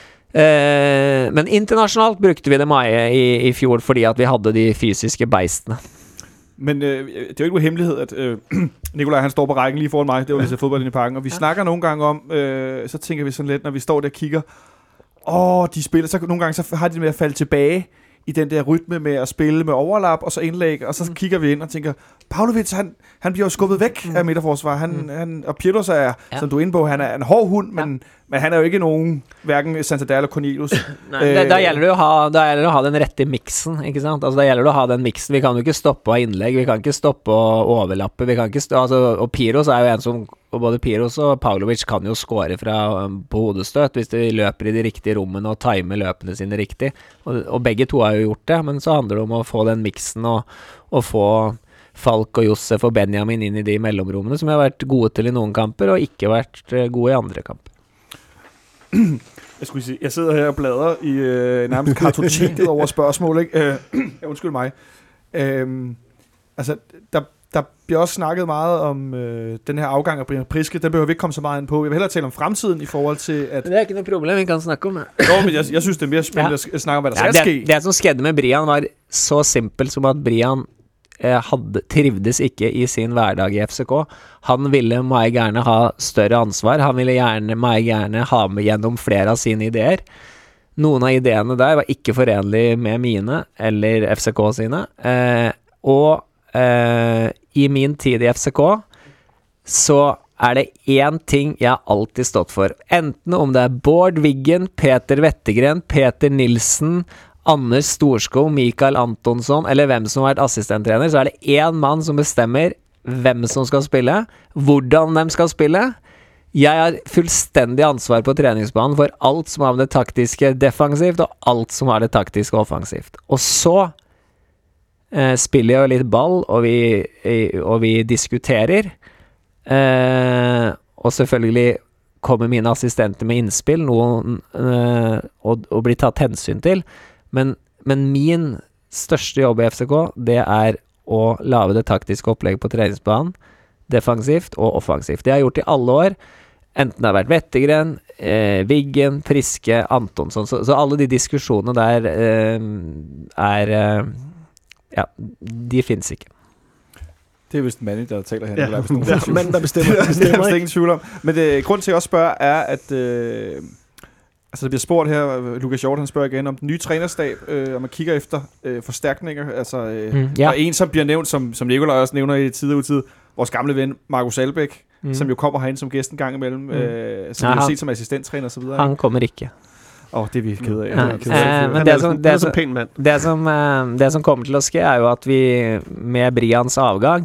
eh, men internasjonalt brukte vi det mye i, i fjor fordi at vi hadde de fysiske beistene. Men øh, det er jo ikke noe hemmelighed, at øh, Nikolaj han står på rækken lige foran mig, det var lige så fodbold inde i parken, og vi ja. snakker nogle gange om, øh, så tænker vi sådan lidt, når vi står der og kigger, åh, de spiller, så nogle gange så har de med at falde tilbage i den der rytme med at spille med overlap og så indlæg, og så mm. kigger vi ind og tænker, Pavlovic, han, han bliver jo skubbet væk mm. af midterforsvar. Han, mm. han, og Pirlos er, ja. som du er inde på, han er en hård hund, men, ja. men han er jo ikke nogen, hverken Santander eller Cornelius. Nei, da, da gjelder det å ha, da gjelder det å ha den rette mixen, ikke sant? Altså, da gjelder det å ha den mixen. Vi kan jo ikke stoppe av innlegg, vi kan ikke stoppe å overlappe, vi kan ikke stå, altså, og Piros er jo en som, og både Piros og Pavlovic kan jo score fra, um, på hodestøt hvis de løper i de riktige rommene og timer løpene sine riktig. Og, og begge to har jo gjort det, men så handler det om å få den mixen og, og få Falk og Josef og Benjamin inn i de mellomrommene som har vært gode til i noen kamper og ikke vært gode i andre kamper. Jeg skulle sige, jeg sidder her og bladrer i øh, nærmest kartoteket over spørgsmål, ikke? Øh, undskyld mig. Øh, altså, der, der bliver også snakket meget om øh, den her afgang af Brian Priske. Den behøver vi ikke komme så meget ind på. Jeg vil hellere tale om fremtiden i forhold til, at... Det er ikke noe problem, vi kan snakke om det. Jo, men jeg, jeg synes, det er mere spændende Ja. at snakke om, hvad der Ja, skal det, ske. det som skjedde med Brian var så simpelt som at Brian eh, hadde, trivdes ikke i sin hverdag i F C K. Han ville meget gerne ha større ansvar. Han ville gjerne, meget gerne ha med gjennom flere av sine ideer. Noen av ideene der var ikke forenlige med mine eller F C K sine. Eh, og eh, i min tid i F C K så er det én ting jeg har alltid stått for. Enten om det er Bård Wiggen, Peter Wettergren, Peter Nilsen, Anders Storskog, Mikael Antonsson, eller hvem som har vært assistenttrener, så er det én mann som bestemmer hvem som skal spille, hvordan de skal spille. Jeg har fullstendig ansvar på treningsbanen for alt som har med det taktiske defensivt, og alt som har det taktiske offensivt. Og så eh, spiller jeg jo litt ball, og vi, eh, og vi diskuterer. Eh, og selvfølgelig kommer mine assistenter med innspill, noen, eh, og, og blir tatt hensyn til. Men, men min største jobb i F C K, det er å lage det taktiske opplegget på treningsbanen, defensivt og offensivt. Det har jeg gjort i alle år, enten det har vært Wettergren, eh, Wiggen, Priske, Antonsson, så, så alle de diskusjonene der eh, er, eh, ja, de finnes ikke. Det er vist en manager, der taler her. Ja, Der er vist nogen, det er manden, der bestemmer. det er bestemmer vist ikke. ingen tvivl om. Men det, grund til, at jeg også spørger, er, at øh, altså, der bliver spurgt her, Lukas Hjort, han spørger igen om den nye trænerstab, øh, og man kigger efter øh, forstærkninger. Altså, øh, Mm, ja. Og en, som bliver nævnt, som, som Nikolaj også nævner i tid og utid, vores gamle ven, Markus Albæk, Mm. som jo kommer herind som gæst en gang imellem, mm. øh, som Ja, vi har han- set som assistenttræner og så videre. Han kommer ikke. Åh, oh, det er vi ked af. Ja. Det er vi ked af. Eh, men Han det er, som- som, det er som- så pæn mand. Det som, eh, det som kommer til å ske er jo at vi, med Brians avgang,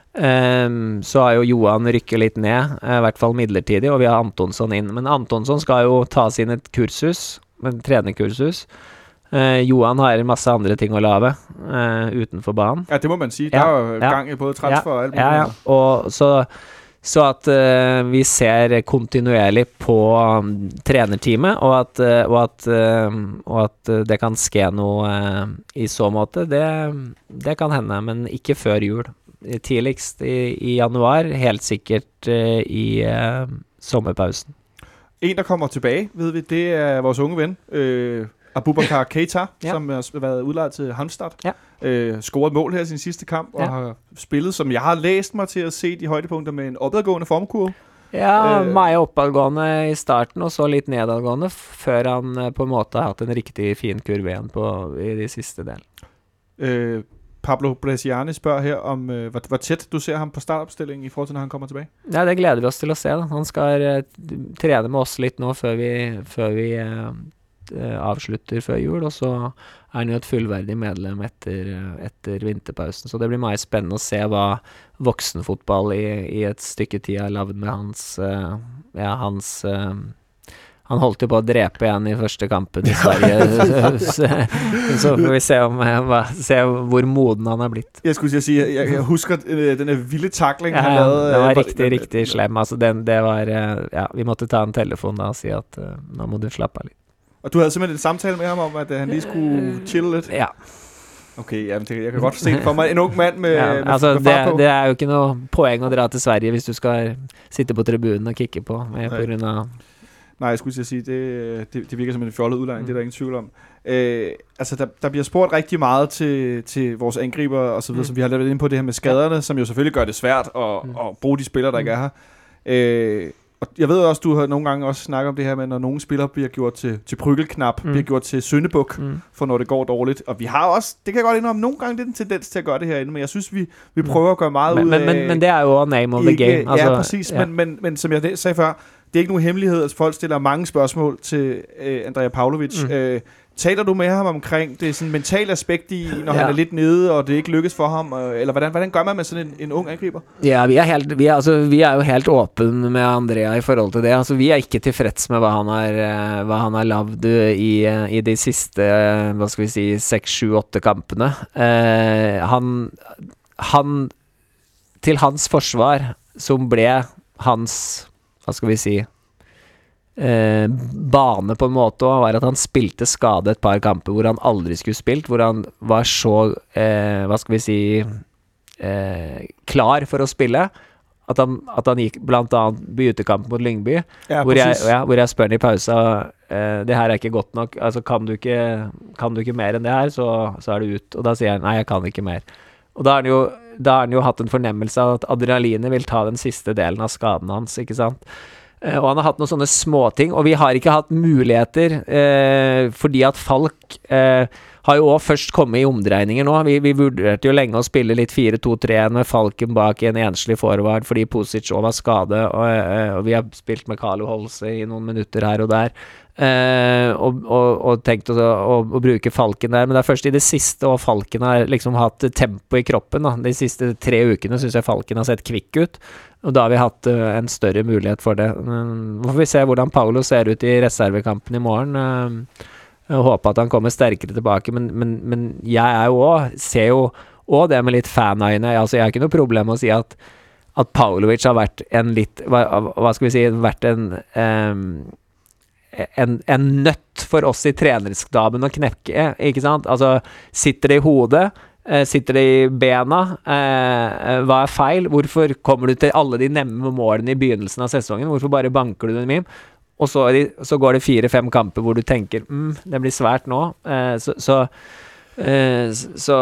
eh, så har jo Johan rykket litt ned, eh, i hvert fall midlertidig, og vi har Antonsson inn. Men Antonsson skal jo ta sin et kursus, en trenerkursus. Eh, Johan har en masse andre ting å lave eh, utenfor banen. Ja, det må man sige. Ja, Der er jo ja. gang i både transfer og alt Ja, ja. muligt. Og så, så at eh, vi ser kontinuerlig på um, trenerteamet, og at, eh, og, at, eh, og at eh, det kan ske noe eh, i så måte, det, det kan hende, men ikke før jul. Tidligst i, i januar, helt sikkert eh, i eh, sommerpausen. En, der kommer tilbage, ved vi, det er vores unge ven, øh, Abubakar Keita, Ja. som har været udlejet til Halmstad. Ja. Øh, scoret mål her i sin sidste kamp, og Ja. har spillet, som jeg har læst mig til at se de højdepunkter med en opadgående formkurve. Ja, Eh. meg oppadgående i starten, og så litt nedadgående, før han eh, på en måte har hatt en riktig fin kurve igjen på, i de siste del. Øh, Pablo Bresciani spørger her om, øh, hvor, hvor tæt du ser ham på startopstillingen i forhold til, når han kommer tilbage. Ja, det gleder vi oss til å se. Da. Han skal eh, trene med oss litt nå før vi, før vi eh, eh, avslutter før jul, og så er han jo et fullverdig medlem etter, eh, etter vinterpausen. Så det blir meget spennende å se hva voksenfotball i, i et stykke tid har lavd med hans, eh, ja, hans eh, han holdt jo på å drepe igjen i første kampen i Sverige, så, så får vi se, om, eh, hva, se hvor moden han har blitt. Jeg skulle til at sige, jeg, jeg husker øh, den her vilde tackling, Ja, han ja, lavede. det var øh, riktig, riktig slem. Altså, den, det var, eh, ja, vi måtte ta en telefon da og si at eh, nå må du slappe av litt. Og du havde simpelthen en samtale med ham om, at øh, han lige skulle chille lidt. Ja, Okay, jamen, det, jeg kan godt se det for mig. En ung mand med, ja med, altså, med det, fart på. det er jo ikke noe poeng å dra til Sverige hvis du skal sitte på tribunen og kikke på, med, på grunn av Nej, jeg skulle til at sige, det, det, det virker som en fjollet udlejning, Mm. det er der ingen tvivl om. Øh, altså, der, der bliver spurgt rigtig meget til, til vores angriber og så videre, Mm. som vi har lavet ind på det her med skaderne, som jo selvfølgelig gør det svært at, Mm. at bruge de spillere, der ikke Mm. er her. Øh, og jeg ved også, du har nogle gange også snakket om det her med, når nogle spillere bliver gjort til, til prykkelknap, Mm. bliver gjort til syndebuk, mm. for når det går dårligt. Og vi har også, det kan jeg godt indrømme, nogle gange det er en tendens til at gøre det herinde, men jeg synes, vi, vi Mm. prøver at gøre meget men, ud men, af... men, men det er jo a name of the ikke, game. Altså, ja, præcis. ja. Men, men, men som jeg sagde før, det er ikke nogen hemmelighed, at folk stiller mange spørgsmål til øh, Andrea Pavlovic. Mm. Øh, taler du med ham omkring det sådan mentale aspekt i, når Ja. han er lidt nede, og det ikke lykkes for ham? Øh, eller hvordan, hvordan gør man med sådan en, en ung angriber? Ja, vi er, helt, vi, er, altså, vi er jo helt åpne med Andrea i forhold til det. Altså, vi er ikke tilfreds med hva han har, eh, hva han har lavd i, eh, i de siste eh, hva skal vi si, seks, sju, åtte kampene. Eh, han, han til hans forsvar, som ble hans, hva skal vi si, eh, bane på en måte, og var at han spilte skade et par kamper hvor han aldri skulle spilt, hvor han var så, eh, hva skal vi si, eh, klar for å spille. At han, at han gikk blant annet bytekamp mot Lyngby, Ja, hvor, jeg, præcis. ja, hvor jeg spør han i pausa, eh, det her er ikke godt nok, altså kan du ikke, kan du ikke mer enn det her, så, så er du ut. Og da sier han, nei, jeg kan ikke mer. Og da har han jo, da har han jo hatt en fornemmelse av at adrenalinet vil ta den siste delen av skaden hans, ikke sant? Eh, og han har hatt noen sånne småting, og vi har ikke hatt muligheter, eh, fordi at Falk eh, har jo også først kommet i omdreininger nå. Vi, vi vurderte jo lenge å spille litt fire to tre med Falken bak en enslig forward, fordi Pusic også var skade, og, og vi har spilt med Carlo Holse i noen minutter her og der, eh, og, og, og tenkt å, å, å bruke Falken der, men det er først i det siste, og Falken har liksom hatt tempo i kroppen, da. De siste tre ukene synes jeg Falken har sett kvikk ut, og da har vi hatt uh, en større mulighet for det. Nå får vi se hvordan Paolo ser ut i reservekampen i morgen. Uh, Jeg håper at han kommer sterkere tilbake, men, men, men jeg er jo også, ser jo også det med litt fanøyne. Altså, jeg har ikke noe problem med å si at, at Paulovic har vært en litt, hva, hva skal vi si, vært en, um, en, en nøtt for oss i trenerskdaben å knekke, ikke sant? Altså, sitter det i hodet? Sitter det i bena? Eh, hva er feil? Hvorfor kommer du til alle de nemme målene i begynnelsen av sesongen? Hvorfor bare banker du dem inn? Og så, de, så går det fire-fem kamper hvor du tenker, mm, det blir svært nå. Eh, så så, eh, så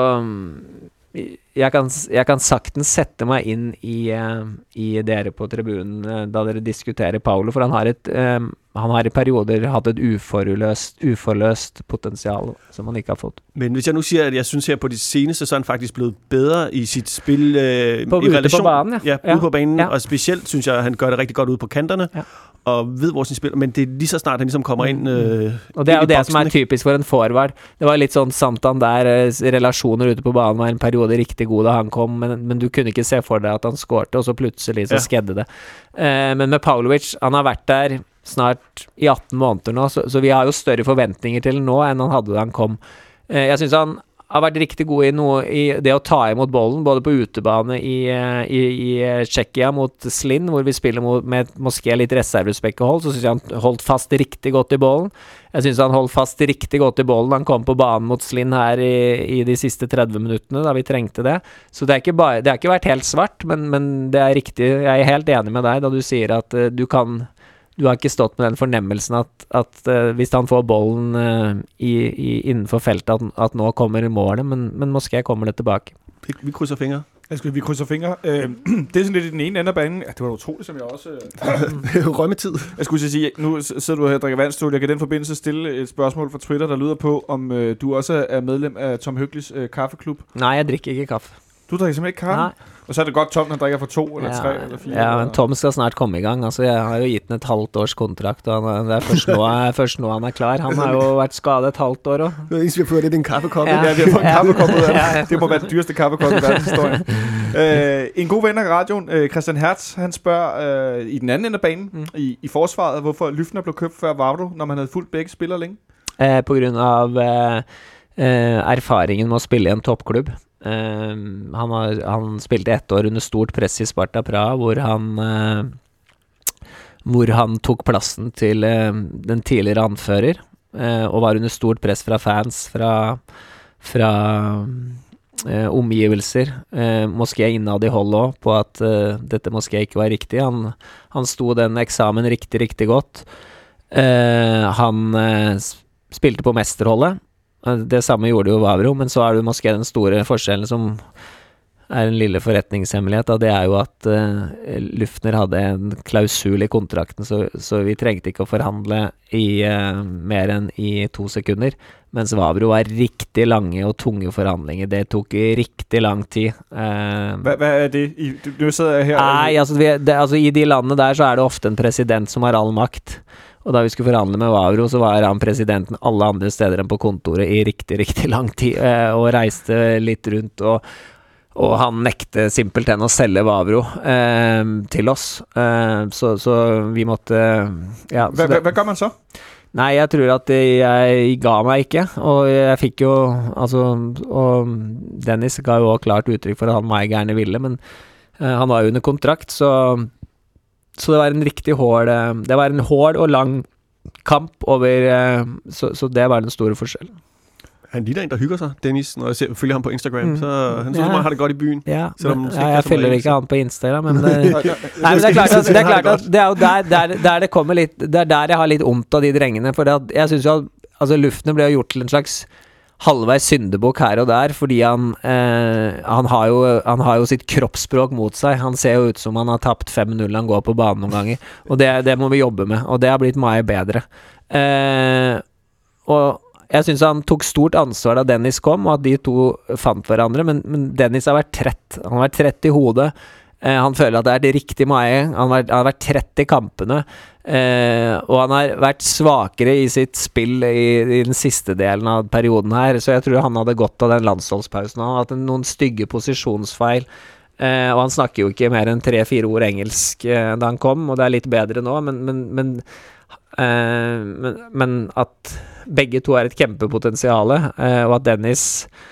jeg, kan, jeg kan saktens sette meg inn i, uh, i dere på tribunen uh, da dere diskuterer Paolo, for han har, et, um, han har i perioder hatt et uforløst, uforløst potensial som han ikke har fått. Men hvis jeg nu siger, at jeg synes her på de seneste, så er han faktisk blevet bedre i sit spil øh, på, i relation. På banen, ja. Ja, ude ja. på banen, ja. og specielt synes jeg, at han gør det rigtig godt ude på kanterne. Ja. Og ved hvor sin spiller, men det er lige så snart han ligesom kommer ind øh, og det er jo det boksen, som er typisk for en forward. Det var litt sånn Santander, relasjoner ute på banen var en periode riktig god da han kom, men, men du kunne ikke se for deg at han skårte, og så plutselig så ja. skedde det. Eh, men med Paulovic, han har vært der snart i atten måneder nå, så, så vi har jo større forventninger til nå enn han hadde da han kom. Eh, jeg synes han har vært riktig god i noe i det å ta imot bollen, både på utebane i, i, i Tsjekkia mot Slinn, hvor vi spiller mot, med måske litt reservespekkehold, så synes jeg han holdt fast riktig godt i bollen. Jeg synes han holdt fast riktig godt i bollen han kom på banen mot Slinn her i, i de siste tretti minuttene, da vi trengte det. Så det, er ikke bare, det har ikke vært helt svart, men, men det er riktig. Jeg er helt enig med deg da du sier at uh, du kan... Du har ikke stått med den fornemmelsen at, at uh, hvis han får bollen uh, i, i, innenfor feltet, at, at nå kommer målet, men, men måske kommer det tilbake. Vi, vi krydser fingre. Jeg skal, vi krydser fingre. Øh, det er sådan lidt i den ene ende af banen. Ja, det var utroligt, som jeg også... Øh, Rømmetid. Jeg skulle sige, nu sidder du her og drikker vandstol. Jeg kan i den forbindelse stille et spørgsmål fra Twitter, der lyder på, om øh, du også er medlem af Tom Høglis øh, kaffeklub. Nej, jeg drikker ikke kaffe. Du drikker simpelthen ikke kaffe? Nej. Og så er det godt Tom, han drikker for to, eller ja, tre, eller fire? Ja, men Tom skal snart komme i gang. Altså, jeg har jo gitt den et halvt års kontrakt, og han, det er først nå, først nå han er klar. Han har jo vært skadet et halvt år også. Det eneste, vi har fået, det er din kaffekoppe. Ja, vi har fået en ja. kaffekoppe ud af ja, ja. Det må være den dyreste kaffekoppe i verdenshistorien. øh, en god ven af radioen, øh, Christian Hertz, han spørger øh, i den anden ende af banen, mm. i, i forsvaret, hvorfor Lyftner blev købt før Vavro, når man havde fulgt begge spillere længe? Eh, på grunn av eh, eh, erfaringen med å spille i en toppklubb. Uh, han, har, han spilte ett år under stort press i Sparta Praha, hvor han uh, hvor han tok plassen til uh, den tidligere anfører, uh, og var under stort press fra fans, fra, fra uh, omgivelser, uh, måske innad i hold også, på at uh, dette måske ikke var riktig. Han, han sto den eksamen riktig, riktig godt. Uh, han uh, spilte på mesterholdet. Det samme gjorde jo Vavro, men så er det jo måske den store forskjellen som er en lille forretningshemmelighet, og det er jo at uh, Lyftner hadde en klausul i kontrakten, så, så vi trengte ikke å forhandle i uh, mer enn i to sekunder, mens Vavro var riktig lange og tunge forhandlinger. Det tok riktig lang tid. Uh, hva, hva er det? I, du, du sidder her... Nei, altså, vi, det, altså i de landene der så er det ofte en president som har all makt. Og da vi skulle forhandle med Vavro, så var han presidenten alle andre steder enn på kontoret i riktig, riktig lang tid, eh, og reiste litt rundt, og, og han nekte simpelthen å selge Vavro eh, til oss. Eh, så, så vi måtte... Ja, hva, hva, hva gør man så? Nei, jeg tror at jeg ga meg ikke, og jeg fikk jo, altså, og Dennis ga jo også klart uttrykk for at han meg gjerne ville, men eh, han var jo under kontrakt, så... Så det var en riktig hård, det var en hård og lang kamp over, så, så det var den store forskjellen. Han ligner en, der hygger sig, Dennis, når jeg ser, følger ham på Instagram. Mm. Så han synes, ja. Man har det godt i byen. Ja, men, ja jeg følger ikke han på Instagram, men det, nei, men det er klart at det, er klart at det er jo der, der, der det kommer litt, det er der jeg har litt ondt av de drengene, for det, jeg synes jo at altså, Lufner ble jo gjort til en slags halvveis syndebukk her og der, fordi han, eh, han, har jo, han har jo sitt kroppsspråk mot seg. Han ser jo ut som han har tapt fem null han går på banen noen ganger, og det, det må vi jobbe med, og det har blitt mye bedre. Eh, og jeg synes han tok stort ansvar da Dennis kom, og at de to fant hverandre, men, men Dennis har vært trett. Han har vært trett i hodet. Eh, han føler at det er det riktige mye. Han har, han har vært trett i kampene. Eh, og han har vært svakere i sitt spill i, i den siste delen av perioden her, så jeg tror han hadde godt av den landsholdspausen. Han har hatt noen stygge posisjonsfeil, eh, og han snakker jo ikke mer enn tre-fire ord engelsk eh, da han kom, og det er litt bedre nå, men, men, men, eh, men, men at begge to har et kjempepotensiale, eh, og at Dennis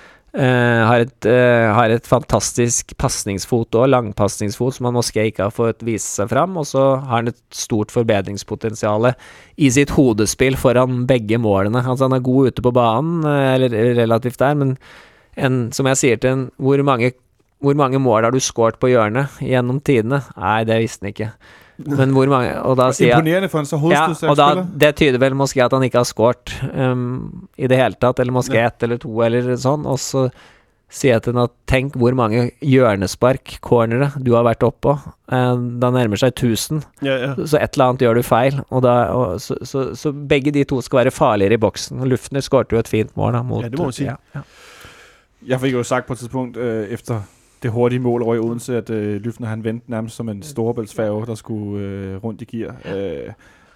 Uh, har, et, uh, har et fantastisk passningsfot og langpassningsfot som han måske ikke har fått vise seg fram, og så har han et stort forbedringspotensiale i sitt hodespill foran begge målene. Altså han er god ute på banen, uh, eller relativt der, men en, som jeg sier til en, hvor mange, hvor mange mål har du skåret på hjørnet gjennom tidene? Nei, det visste han ikke. Men hvor mange, og da sier jeg, imponerende for en så hovedstøst ja, og da, det tyder vel måske at han ikke har skåret um, i det hele tatt, eller måske ja. ett eller to eller sånn, og så sier jeg til henne at tenk hvor mange hjørnespark, cornere du har vært oppå, uh, da nærmer seg tusen, ja, ja. Så et eller annet gjør du feil, og da, og så, så, så begge de to skal være farligere i boksen, og Lufner skårte jo et fint mål da, mot, ja, det må man sige. Ja, ja. Jeg fikk jo sagt på et tidspunkt øh, efter det hurtige mål over i Odense, at øh, Lufner han vendte nærmest som en storebæltsfærge, der skulle øh, rundt i gear. Øh,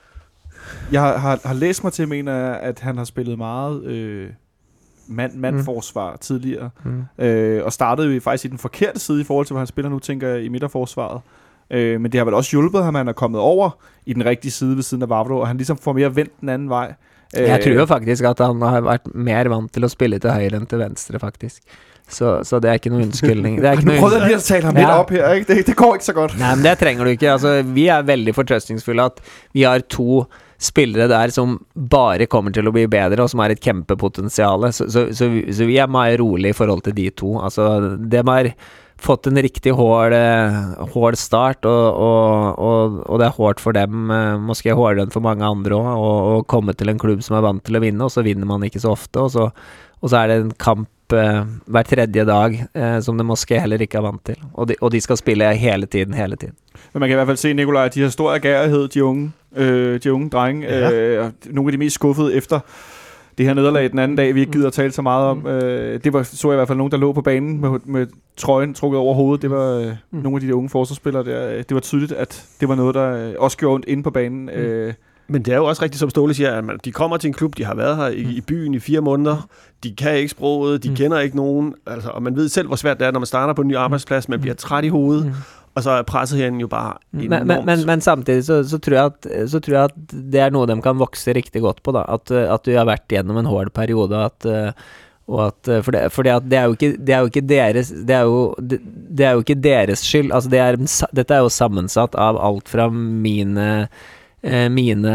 jeg har, har, har læst mig til, mener at han har spillet meget øh, mand-mand-forsvar mm. tidligere, mm. øh, og startede jo faktisk i den forkerte side i forhold til, hvad han spiller nu, tænker jeg, i midterforsvaret. Øh, men det har vel også hjulpet ham, at han er kommet over i den rigtige side ved siden af Vavro, og han ligesom får mere vendt den anden vej. Øh, jeg tror jo faktisk, at han har vært mer vant til å spille til høyre enn til venstre, faktisk. Så, så det er ikke noen unnskyldning. Det er ikke noe prøvde lige at tale ham ja. lidt op her, ikke? Det, det går ikke så godt. Nei, men det trenger du ikke. Altså, vi er veldig fortrøstningsfulle at vi har to spillere der som bare kommer til å bli bedre, og som har et kjempepotensiale. Så, så, så, så vi er mer rolig i forhold til de to. Altså, de har fått en riktig hård, hård start, og, og, og, og det er hårdt for dem, måske hårdere enn for mange andre også, å komme til en klubb som er vant til å vinne, og så vinner man ikke så ofte, og så, og så er det en kamp hver tredje dag, eh, som de måske heller ikke er vant til. Og de, og de skal spille hele tiden, hele tiden. Men man kan i hvert fald se, Nikolaj, at de har stor agerighed, de unge, øh, de unge drenge. Ja. Øh, nogle af de mest skuffede efter det her nederlag den anden dag, vi ikke gider at tale så meget om. Øh, det var, så jeg i hvert fald nogen, der lå på banen med, med trøjen trukket over hovedet. Det var øh, mm. nogle af de unge forsvarsspillere der. Det var tydeligt, at det var noget, der også gjorde ondt inde på banen. Mm. Øh, Men det er jo også rigtigt, som Ståle siger, at man, de kommer til en klub, de har været her i, i byen i fire måneder, de kan ikke sproget, de mm. kender ikke nogen, altså, og man ved selv, hvor svært det er, når man starter på en ny arbejdsplads, man bliver træt i hovedet, mm. og så er presset herinde jo bare enormt. Men, men, men, men samtidig så, så, tror jeg at, så tror jeg at det er noe de kan vokse riktig godt på, da. At, at du har vært gjennom en hård periode, at, og at, for, det, for det, at det, er jo ikke, det er jo ikke deres det er jo, det, det er jo ikke deres skyld, altså det er, dette er jo sammensatt av alt fra mine mine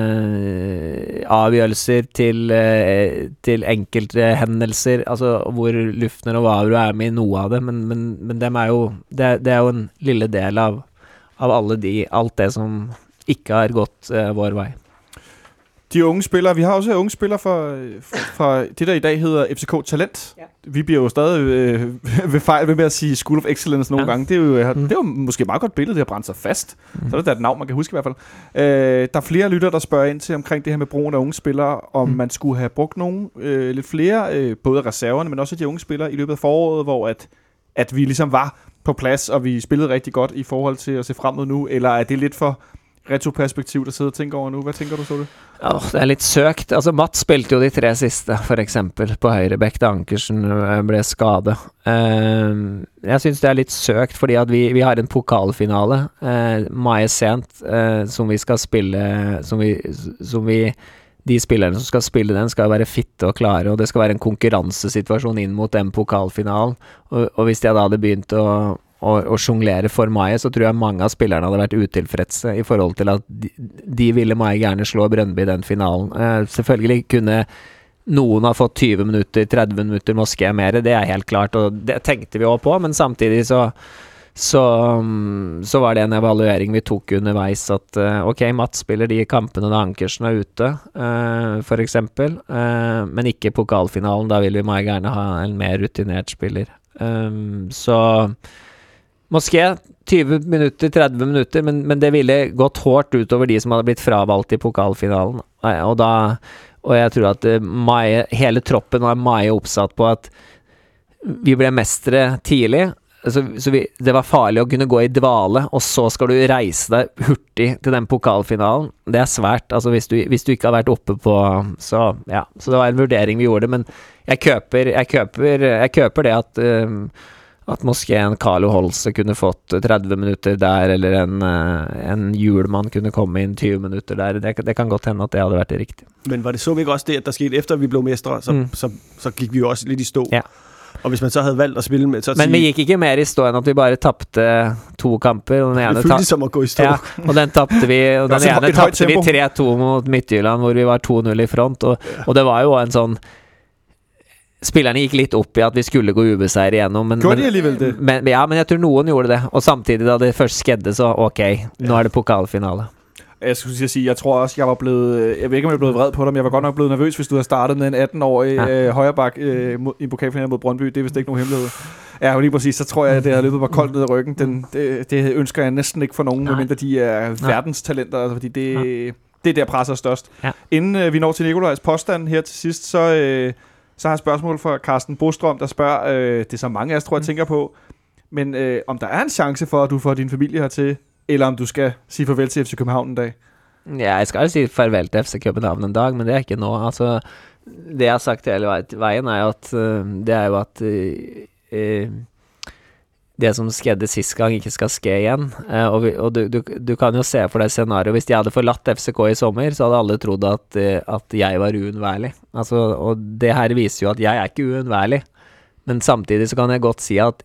avgjørelser til, til enkelte hendelser, altså hvor Lufner og Vavro er med i noe av det, men, men, men dem er jo, det, det er jo en lille del av, av alle de, alt det som ikke har gått uh, vår vej. De unge spillere, vi har også unge spillere fra, fra det, der i dag hedder F C K Talent. Ja. Vi bliver jo stadig øh, ved fejl ved med at sige School of Excellence nogle ja. gange. Det er, jo, mm. det er jo måske et meget godt billede, det har brændt sig fast. Mm. Så er det da et navn, man kan huske i hvert fald. Øh, der er flere lytter, der spørger ind til omkring det her med brugen af unge spillere, om mm. man skulle have brugt nogle øh, lidt flere, øh, både reserverne, men også de unge spillere i løbet af foråret, hvor at, at vi ligesom var på plads, og vi spillede rigtig godt i forhold til at se frem mod nu, eller er det lidt for retroperspektiv, der sidder og tænker over nu? Hvad tænker du så det? Oh, det er litt søkt. Altså, Matt spilte jo de tre siste, for eksempel, på høyrebekk da Ankersen ble skadet. Uh, jeg synes det er litt søkt, fordi at vi, vi har en pokalfinale, uh, mye sent, uh, som vi skal spille, som vi, som vi, de spillerne som skal spille den, skal være fitte og klare, og det skal være en konkurransesituasjon inn mot den pokalfinalen. Og, og hvis jeg da hadde begynt å og, og jonglere for meg, så tror jeg mange av spillerne hadde vært utilfredse i forhold til at de, de ville meg gjerne slå Brøndby i den finalen. Eh, selvfølgelig kunne noen har fått tjue minutter, tretti minutter, Moské mer, det er helt klart, og det tenkte vi også på, men samtidig så Så, så var det en evaluering vi tok underveis at uh, ok, Mats spiller de kampene da Ankersen er ute, uh, for eksempel, uh, men ikke pokalfinalen, da vil vi meget gjerne ha en mer rutinert spiller. Um, så Moské tjue minutter, tretti minutter, men, men det ville gått hårdt utover de som hadde blitt fravalgt i pokalfinalen, uh, og da og jeg tror at uh, Mai, hele troppen var meget oppsatt på at vi ble mestre tidlig. Så, så vi, det var farlig å kunne gå i dvale, og så skal du reise deg hurtig til den pokalfinalen. Det er svært, altså hvis du, hvis du ikke har vært oppe på så, ja, så det var en vurdering vi gjorde, men jeg køper, jeg køper, jeg køper det at, um, at Moské en Carlo Holse kunne fått tretti minutter der, eller en, uh, en Hjulmann kunne komme inn tjue minutter der. Det, det kan godt hende at det hadde vært det riktige. Men var det så vi ikke også det, at der skete efter vi blev mestre, så, mm. så, så, så gik vi jo også lidt i stå? Ja. Og hvis man så havde valgt at spille med... Så men vi gikk ikke mer i stå enn at vi bare tappte to kamper. Og den ene det føltes som å gå i stå. Ja, og den tappte vi, og den ene tappte vi tre to mot Midtjylland, hvor vi var to null i front, og, ja. og det var jo en sånn... Spillerne gikk litt opp i at vi skulle gå ubeseiret igjennom, men, Gjorde de alligevel det? Men, ja, men jeg tror noen gjorde det, og samtidig da det først skedde, så ok, nå er det pokalfinale. Jeg skulle sige, jeg tror også, jeg var blevet, jeg ved ikke, om jeg er blevet vred på dig, men jeg var godt nok blevet nervøs, hvis du havde startet med en atten-årig ja. øh, højreback øh, i pokalfinalen mod Brøndby. Det er vist ikke nogen hemmelighed. Ja, lige præcis, så tror jeg, at det havde løbet mig koldt ned ad ryggen. Den, det, det ønsker jeg næsten ikke for nogen, medmindre de er verdenstalenter, altså, fordi det, det er der presser størst. Ja. Inden øh, vi når til Nikolajs påstand her til sidst, så, øh, så har jeg et spørgsmål fra Carsten Bostrøm, der spørger, øh, det er så mange af os, tror jeg, tænker på, men øh, om der er en chance for, at du får din familie hertil, eller om du skal sige farvel til F C København en dag? Ja, jeg skal si farvel til F C København en dag, men det er ikke nå. Altså, det jeg har sagt hele veien er at uh, det er jo at uh, uh, det som skedde sist gang ikke skal ske igjen. Uh, og vi, og du, du, du kan jo se for deg scenario. Hvis de hadde forlatt F C K i sommer, så hadde alle trodd at, uh, at jeg var uunnværlig. Altså, og det her viser jo at jeg er ikke uunnværlig. Men samtidig så kan jeg godt si at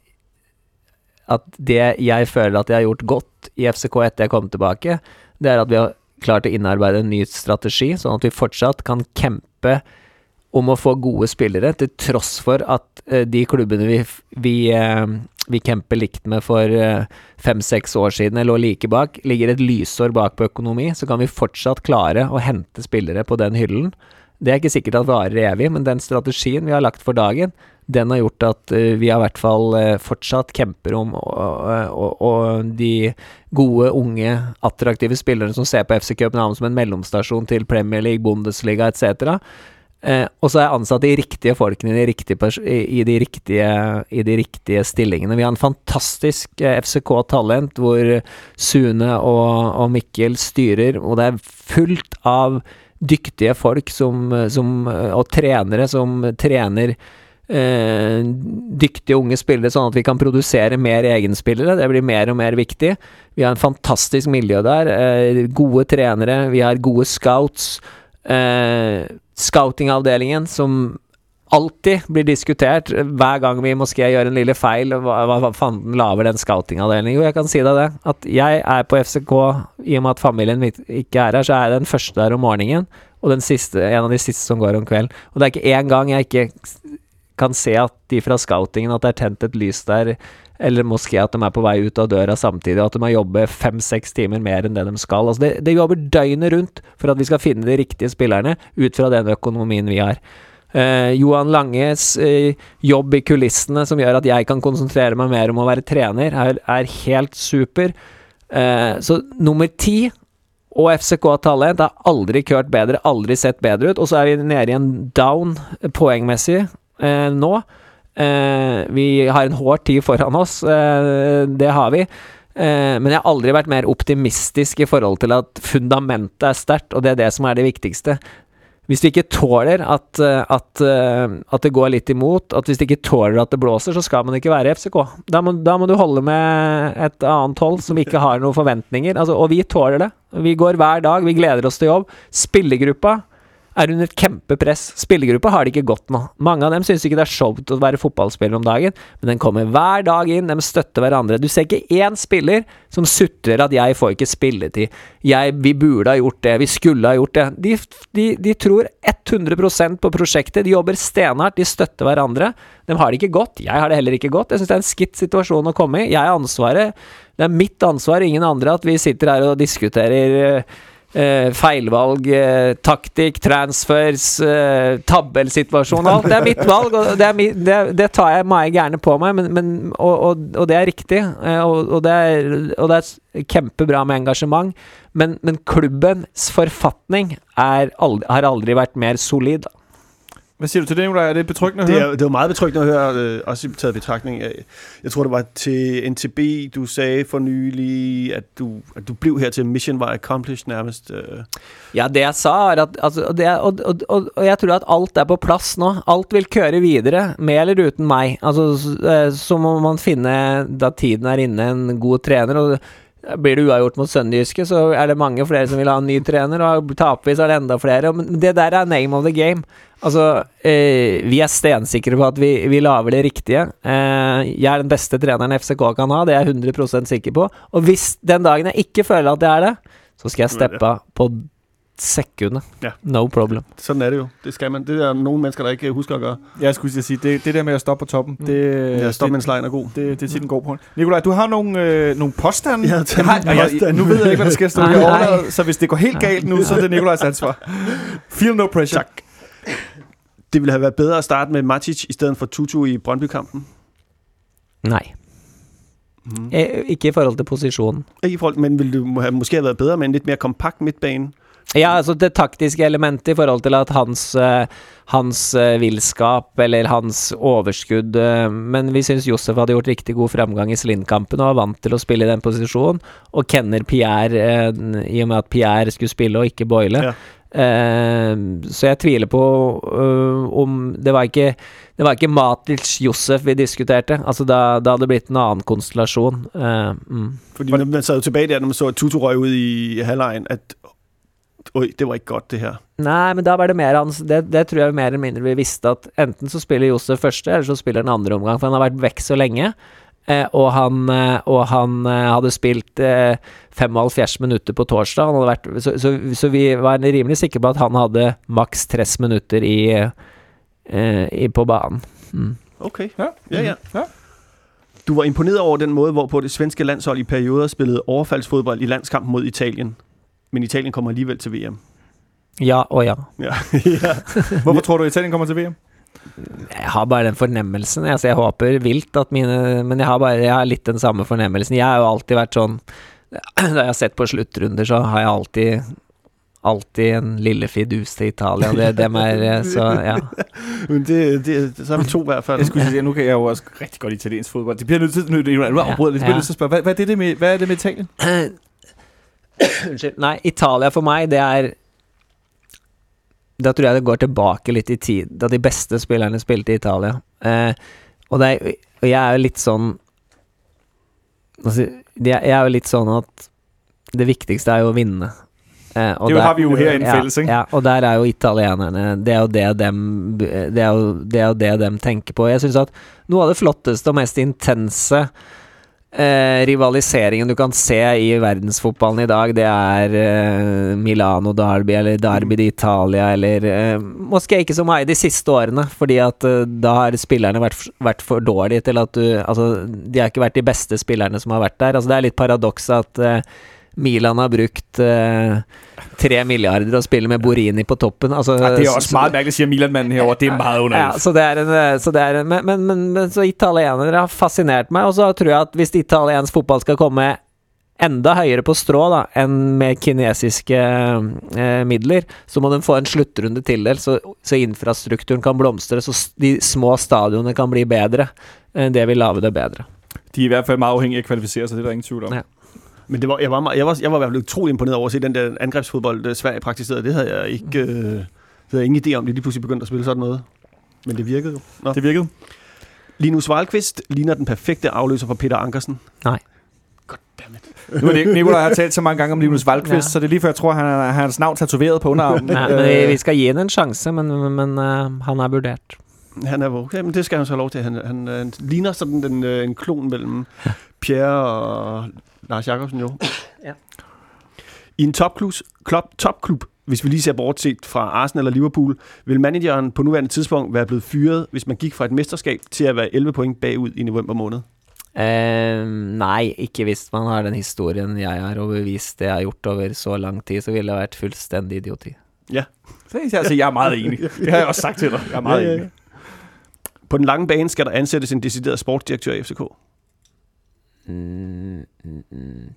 at det jeg føler at jeg har gjort godt i F C K etter jeg kom tilbake, det er at vi har klart å innarbeide en ny strategi, sånn at vi fortsatt kan kjempe om å få gode spillere, til tross for at uh, de klubbene vi, vi, uh, vi kjemper likt med for uh, fem-seks år siden, eller like bak, ligger et lysår bak på økonomi, så kan vi fortsatt klare å hente spillere på den hyllen. Det er ikke sikkert at varer evig, men den strategien vi har lagt for dagen, den har gjort at uh, vi har i hvert fall uh, fortsatt kjemper om og, og, og de gode, unge, attraktive spillere som ser på F C København som en mellomstasjon til Premier League, Bundesliga et cetera. Uh, og så er jeg ansatt de riktige folkene i de riktige, i, i de riktige, i de riktige stillingene. Vi har en fantastisk uh, F C K-talent hvor Sune og, og Mikkel styrer, og det er fullt av dyktige folk som, som, og trenere som trener Eh, dyktige unge spillere, sånn at vi kan produsere mer egenspillere. Det blir mer og mer viktig. Vi har en fantastisk miljø der, eh, gode trenere, vi har gode scouts, eh, scoutingavdelingen som alltid blir diskutert hver gang vi måske gjøre en lille feil. Hva, hva fanden laver den scoutingavdelingen? Jo, jeg kan si deg det, at jeg er på F C K i og med at familien mitt ikke er her, så er jeg den første der om morgenen, og den siste, en av de siste som går om kvelden. Og det er ikke en gang jeg ikke kan se at de fra scoutingen, at det er tent et lys der, eller måske at de er på vei ut av døra samtidig, og at de har jobbet fem-seks timer mer enn det de skal. Altså det, det jobber døgnet rundt for at vi skal finne de riktige spillerne ut fra den økonomien vi har. Uh, Johan Langes uh, jobb i kulissene som gjør at jeg kan konsentrere meg mer om å være trener, er, er helt super. Uh, så nummer ti og F C K-talent har aldri kørt bedre, aldri sett bedre ut, og så er vi nede i en down poengmessig Eh, nå. Eh, vi har en hård tid foran oss, eh, det har vi. Eh, men jeg har aldri vært mer optimistisk i forhold til at fundamentet er sterkt, og det er det som er det viktigste. Hvis du ikke tåler at, at, at det går litt imot, at hvis du ikke tåler at det blåser, så skal man ikke være F C K. Da må, da må du holde med et annet hold som ikke har noen forventninger. Altså, og vi tåler det. Vi går hver dag, vi gleder oss til jobb. Spillergruppa er under et kjempepress. Spillergruppa har det ikke godt nå. Mange av dem synes ikke det er showt å være fotballspiller om dagen, men den kommer hver dag inn, de støtter hverandre. Du ser ikke én spiller som sutrer at jeg får ikke spilletid. Jeg, vi burde ha gjort det, vi skulle ha gjort det. De, de, de tror hundre prosent på prosjektet, de jobber stenhardt, de støtter hverandre. De har det ikke godt, jeg har det heller ikke godt. Jeg synes det er en skitt situasjon å komme i. Jeg har ansvaret, det er mitt ansvar, ingen andre, at vi sitter her og diskuterer eh, feilvalg, eh, taktikk, transfers, eh, tabellsituasjon, alt. Det er mitt valg, og det, er mi, det, det tar jeg meg gjerne på meg, men, men, og, og, og det er riktig, eh, og, og, det er, og det er kjempebra med engasjement, men, men klubbens forfatning er aldri, har aldri vært mer solid. Hvad siger du til det, Nicolaj? Er det betryggende at det høre? er, det var meget betryggende at høre, øh, også taget betragtning af. Jeg tror, det var til N T B, du sagde for nylig, at du, at du blev her til Mission var accomplished nærmest. Øh. Ja, det jeg sa er at, altså, det er, og, og, og, og jeg tror at alt er på plass nå. Alt vil køre videre, med eller uten meg. Altså, så, så må man finne, da tiden er inne, en god trener, og blir det uavgjort mot Sønderjyske, så er det mange flere som vil ha en ny trener, og taper vi, så er det enda flere. Men det der er name of the game. Altså, eh, vi er stensikre på at vi, vi laver det riktige. Eh, jeg er den beste treneren F C K kan ha, det er jeg hundre prosent sikker på. Og hvis den dagen jeg ikke føler at det er det, så skal jeg steppe på sekundet. Ja. No problem. Sådan er det jo. Det skal man. Det er nogle mennesker, der ikke husker at gøre. Jeg skulle sige, det, det der med at stoppe på toppen, det, Ja, stop det, mens lejen er god. det, det er tiden går på. Nicolaj, du har nogle, øh, nogle påstande. Ja, jeg har, og jeg, nu ved jeg ikke, hvad der skal stå Nej, i nej. overladet, så hvis det går helt galt nu, så er det Nicolajs ansvar. Feel no pressure. Tak. Det ville have været bedre at starte med Matic i stedet for Tutu i Brøndby-kampen. Nei. Mm. Eh, ikke i forhold til posisjonen. Ikke i forhold, men ville du have, måske have været bedre med en lidt mere kompakt midtbane? Ja, altså det taktiske elementet i forhold til at hans, uh, hans uh, villskap eller hans overskudd, uh, men vi synes Josef hadde gjort riktig god fremgang i Slind-kampen og var vant til å spille i den posisjonen, og kenner Pierre, uh, i og med at Pierre skulle spille og ikke Boyle. Ja. Uh, så jeg tviler på uh, om det var ikke det var ikke Matic Josef vi diskuterte, altså da, da hadde det blitt en annen konstellasjon. Uh, mm. Fordi man, man sad jo tilbage der, når man så, at Tutu røg ud i halvlejen, at oj, det var ikke godt det her. Nei, men da var det mer hans, det, det tror jeg mer eller mindre vi visste at enten så spiller Josef første, eller så spiller den andre omgang, for han har vært vekk så lenge, eh, og han, eh, og han eh, hadde spilt eh, femoghalvfjerds minutter på torsdag, han hadde vært, så, så, så vi var rimelig sikre på at han hadde maks tres minutter i, eh, i på banen. Mm. Okay, Ja. ja, ja. Ja. Du var imponeret over den måde, hvorpå det svenske landshold i perioder spillede overfaldsfodbold i landskampen mod Italien. Men Italien kommer alligevel til V M. Ja og ja. Ja. ja. Hvorfor tror du, Italien kommer til V M? Jeg har bare den fornemmelsen, altså jeg håper vilt at mine, men jeg har bare, jeg har litt den samme fornemmelsen. Jeg har jo alltid vært sånn, da jeg har sett på sluttrunder, så har jeg alltid alltid en lille fidus til Italia, det, dem er, så ja. Men det, det, så er vi to i hvert fald. Jeg skulle sige, nu kan jeg jo også rigtig godt italiensk fodbold. Det bliver nødt til, nu, nu afbryder det, det bliver nødt til at spørge, hvad, hvad, er det, det med, hvad er det med Italien? Unnskyld, nei, Italia for meg, det er, da tror jeg det går tilbake litt i tid, da de beste spillerne spilte i Italia. Eh, og, det er, og jeg er jo litt sånn, altså, jeg er jo litt sånn at det viktigste er jo å vinne. Eh, og det der, har vi jo her i en ja, fælles, ikke? Ja, og der er jo italienerne, det er jo det dem, det er jo, det er jo det dem tenker på. Jeg synes at noe av det flotteste og mest intense Eh, rivaliseringen du kan se i verdensfotballen i dag, det er eh, Milano Derby eller Derby d'Italia eller eh, måske ikke så mye de siste årene, fordi at eh, da har spillerne vært, vært for dårlige til at du, altså de har ikke vært de beste spillerne som har vært der, altså det er litt paradoks at eh, Milan har brukt eh, tre milliarder og spiller med Borini på toppen. Altså, ja, det er også meget mærkeligt, siger Milan-manden herovre. Det er meget underligt. Ja, så det er en, så det er en men, men, men, men så italienere har fascinert meg, og så tror jeg at hvis italiensk fotball skal komme enda høyere på strå da, enn med kinesiske eh, midler, så må de få en sluttrunde til det, så, så infrastrukturen kan blomstre, så de små stadionene kan bli bedre. Eh, det vil lave det bedre. De er i hvert fald meget afhængige af at kvalificere sig, det er der ingen tvivl om. Ja. Men det var, jeg, var, meget- jeg, var, jeg var i hvert fald utrolig imponeret over at se den der angrebsfodbold, der Sverige praktiserede. Det havde jeg ikke, øh, det havde jeg ingen idé om, de lige pludselig begyndte at spille sådan noget. Men det virkede jo. Nå. Det virkede. Linus Wahlqvist ligner den perfekte afløser for Peter Ankersen. Nej. Nu er det Nicolaj har talt så mange gange om Linus Valdqvist, ja. Så det er lige før jeg tror, han har hans navn tatoveret på underarmen. Nei, men vi skal gi henne en chance, men, men uh, han er vurdert. Han er okay, men det skal han så have lov til. Han, han, han ligner sådan den, en klon mellem Pierre og Lars Jacobsen jo. Ja. I en topklub, klub, topklub, hvis vi lige ser bortset fra Arsenal og Liverpool, vil manageren på nuværende tidspunkt være blevet fyret, hvis man gik fra et mesterskab til at være elleve point bagud i november måned? Uh, nei, ikke hvis man har den historien jeg har, og bevist det jeg har gjort over så lang tid, så ville det vært fullstendig idioti. Ja. Så altså, jeg er meget enig. Det har jeg også sagt til dig. Jeg er meget ja, ja, ja. enig. På den lange bane skal der ansættes en decideret sportsdirektør i F C K. Mm, mm, mm.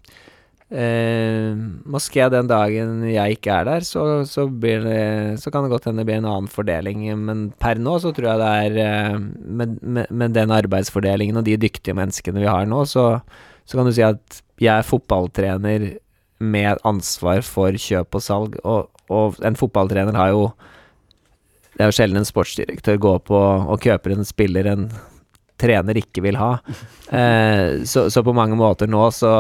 Eh, måske den dagen jeg ikke er der, så, så, blir det, så kan det godt hende det blir en annen fordeling. Men per nå så tror jeg det er med, med, med den arbeidsfordelingen og de dyktige menneskene vi har nå, så, så kan du si at jeg er fotballtrener med ansvar for kjøp og salg, og, og en fotballtrener har jo, det er jo sjelden en sportsdirektør går på og kjøper en spiller en trener ikke vil ha. Eh, så, så på mange måter nå så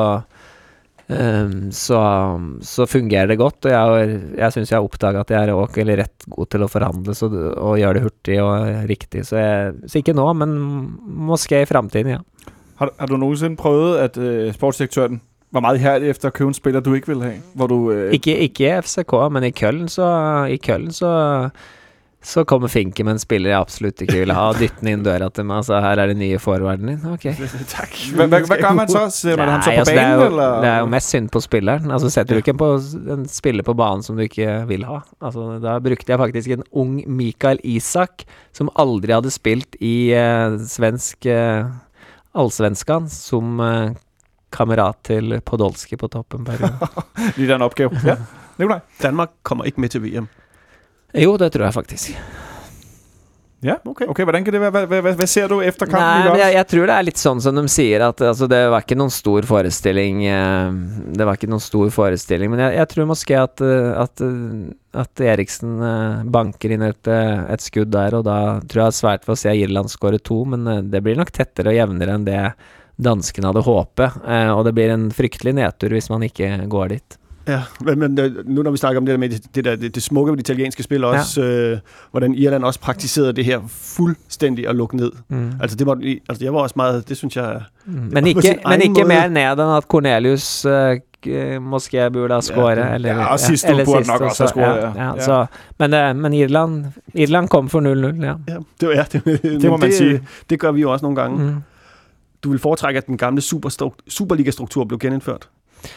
Um, så, så fungerer det godt, og jeg, jeg synes jeg har oppdaget at jeg er også, eller rett god til å forhandle så, og gjøre det hurtig og riktig, så, jeg, så ikke nå, men måske i fremtiden, ja. Har, har du nogensinde prøvet, at uh, sportsdirektøren var meget ihærdig efter at købe en spiller, du ikke ville have? Hvor du, uh... ikke, ikke F C K, men i Køln så, i Køln så så kommer Finke med en spiller jeg absolutt ikke vil ha, og dytter den inn døra til meg, så her er det nye forwarden din. Ok. Takk. Hva, hva, hva gør man så? Ser man ham så på altså, banen? Det er, jo, eller? det er jo mest synd på spilleren. Altså, setter du ikke på en spiller på banen som du ikke vil ha. Altså, da brukte jeg faktisk en ung Mikael Isak, som aldri hadde spilt i uh, svensk uh, allsvenskan, som uh, kamerat til Podolski på toppen. Lige der en opgave. Ja, Nicolaj. Danmark kommer ikke med til V M. Jo, det tror jeg faktisk. Ja, okay. okay. Hvordan kan det være? Hva, hva, hva ser du efter kampen? Nei, men jeg, jeg tror det er litt sånn som de sier, at altså, det var ikke noen stor forestilling. Eh, det var ikke noen stor forestilling, men jeg, jeg tror måske at, at, at Eriksen eh, banker inn et, et skudd der, og da tror jeg det er svært for å se Irland skåre to, men eh, det blir nok tettere og jevnere enn det danskene hadde håpet, eh, og det blir en fryktelig nedtur hvis man ikke går dit. Ja, men, men nu når vi snakker om det der med det, det, der, det, det smukke ved de italienske spil også, ja. øh, hvordan Irland også praktiserede det her fuldstændig at lukke ned. Mm. Altså det var, altså jeg var også meget, det synes jeg... Mm. Men ikke, men ikke mer ned enn at Cornelius øh, måske burde ha skåret. Ja, eller, ja, og sidst ja, burde nok også ha skåret. Ja, ja, ja. Så, men, øh, men Irland, Irland kom for null null, ja. Ja, det, var, ja, det, det må man det, sige. Det gør vi jo også nogle gange. Mm. Du vil foretrække, at den gamle Superliga-struktur blev genindført?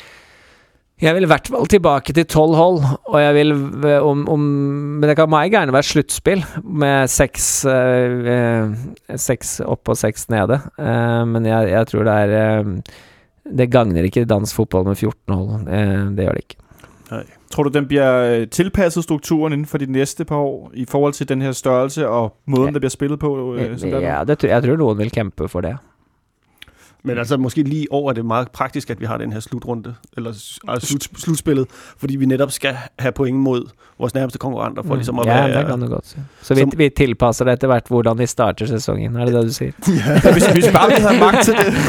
Jeg vil i hvert fall tilbake til tolv hold, og jeg vil om, om, men det kan meget gjerne være sluttspill med seks, eh, seks opp og seks nede, eh, men jeg, jeg tror det er eh, det gagner ikke dansk fotball med fjorten hold, eh, det gjør det ikke. Nej. Tror du, den bliver tilpasset strukturen inden for de næste par år i forhold til den her størrelse og måden, ja. Der bliver spillet på? Øh, ja, det, jeg tror noen vil kæmpe for det. Men altså måske lige over er det meget praktisk, at vi har den her slutrunde, eller altså slut, slutspillet, fordi vi netop skal have point mod vores nærmeste konkurrenter. For ligesom at ja, være, det kan du godt se. Så vi, som, vi tilpasser det etter hvert, hvordan vi starter sæsonen. Er det det, du siger? Ja, hvis, hvis bare vi havde magt til det.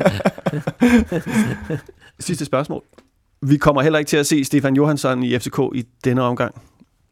Sidste spørgsmål. Vi kommer heller ikke til at se Stefan Johansson i F C K i denne omgang.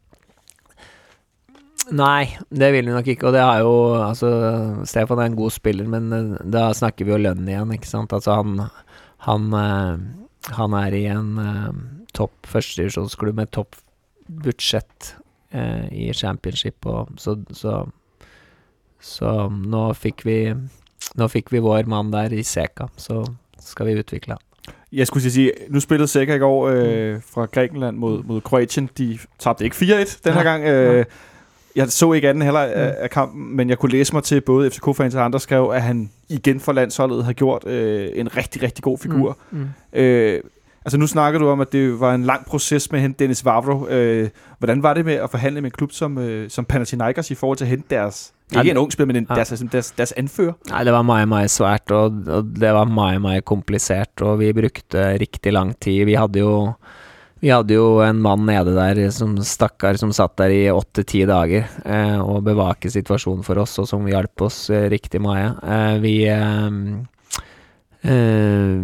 Nei, det vil vi nok ikke, og det har jo, altså, Stefan er en god spiller, men da snakker vi jo lønn igjen, ikke sant? Altså han, han, han er i en topp førstedivisjonsklubb med topp budsjett eh, i championship, og så, så, så nå fikk vi, nå fikk vi vår mann der i Seka, så skal vi utvikle han. Jeg skulle sige, nu spillede Seka i går øh, fra Grækenland mod, mod Kroatien, de tabte ikke fire et den her gang, øh, jeg så ikke anden heller af, af kampen, men jeg kunne læse mig til både F C K-fans og andre skrev, at han igen for landsholdet har gjort øh, en rigtig, rigtig god figur. Mm, mm. Øh, altså nu snakker du om, at det var en lang proces med at hente Dennis Vavro. Øh, hvordan var det med at forhandle med en klub som, øh, som Panathinaikos i forhold til at hente deres, ikke ja, en ung spiller, men en, ja. deres, deres, deres anfører? Nej, det var meget, meget svært, og, og det var meget, meget komplicert, og vi brugte rigtig lang tid. Vi havde jo Vi hadde jo en mann nede der som stakkar som satt der i åtte-ti dager eh, og bevake situasjonen for oss, og som hjalp oss eh, riktig mye. Eh, vi, eh, eh,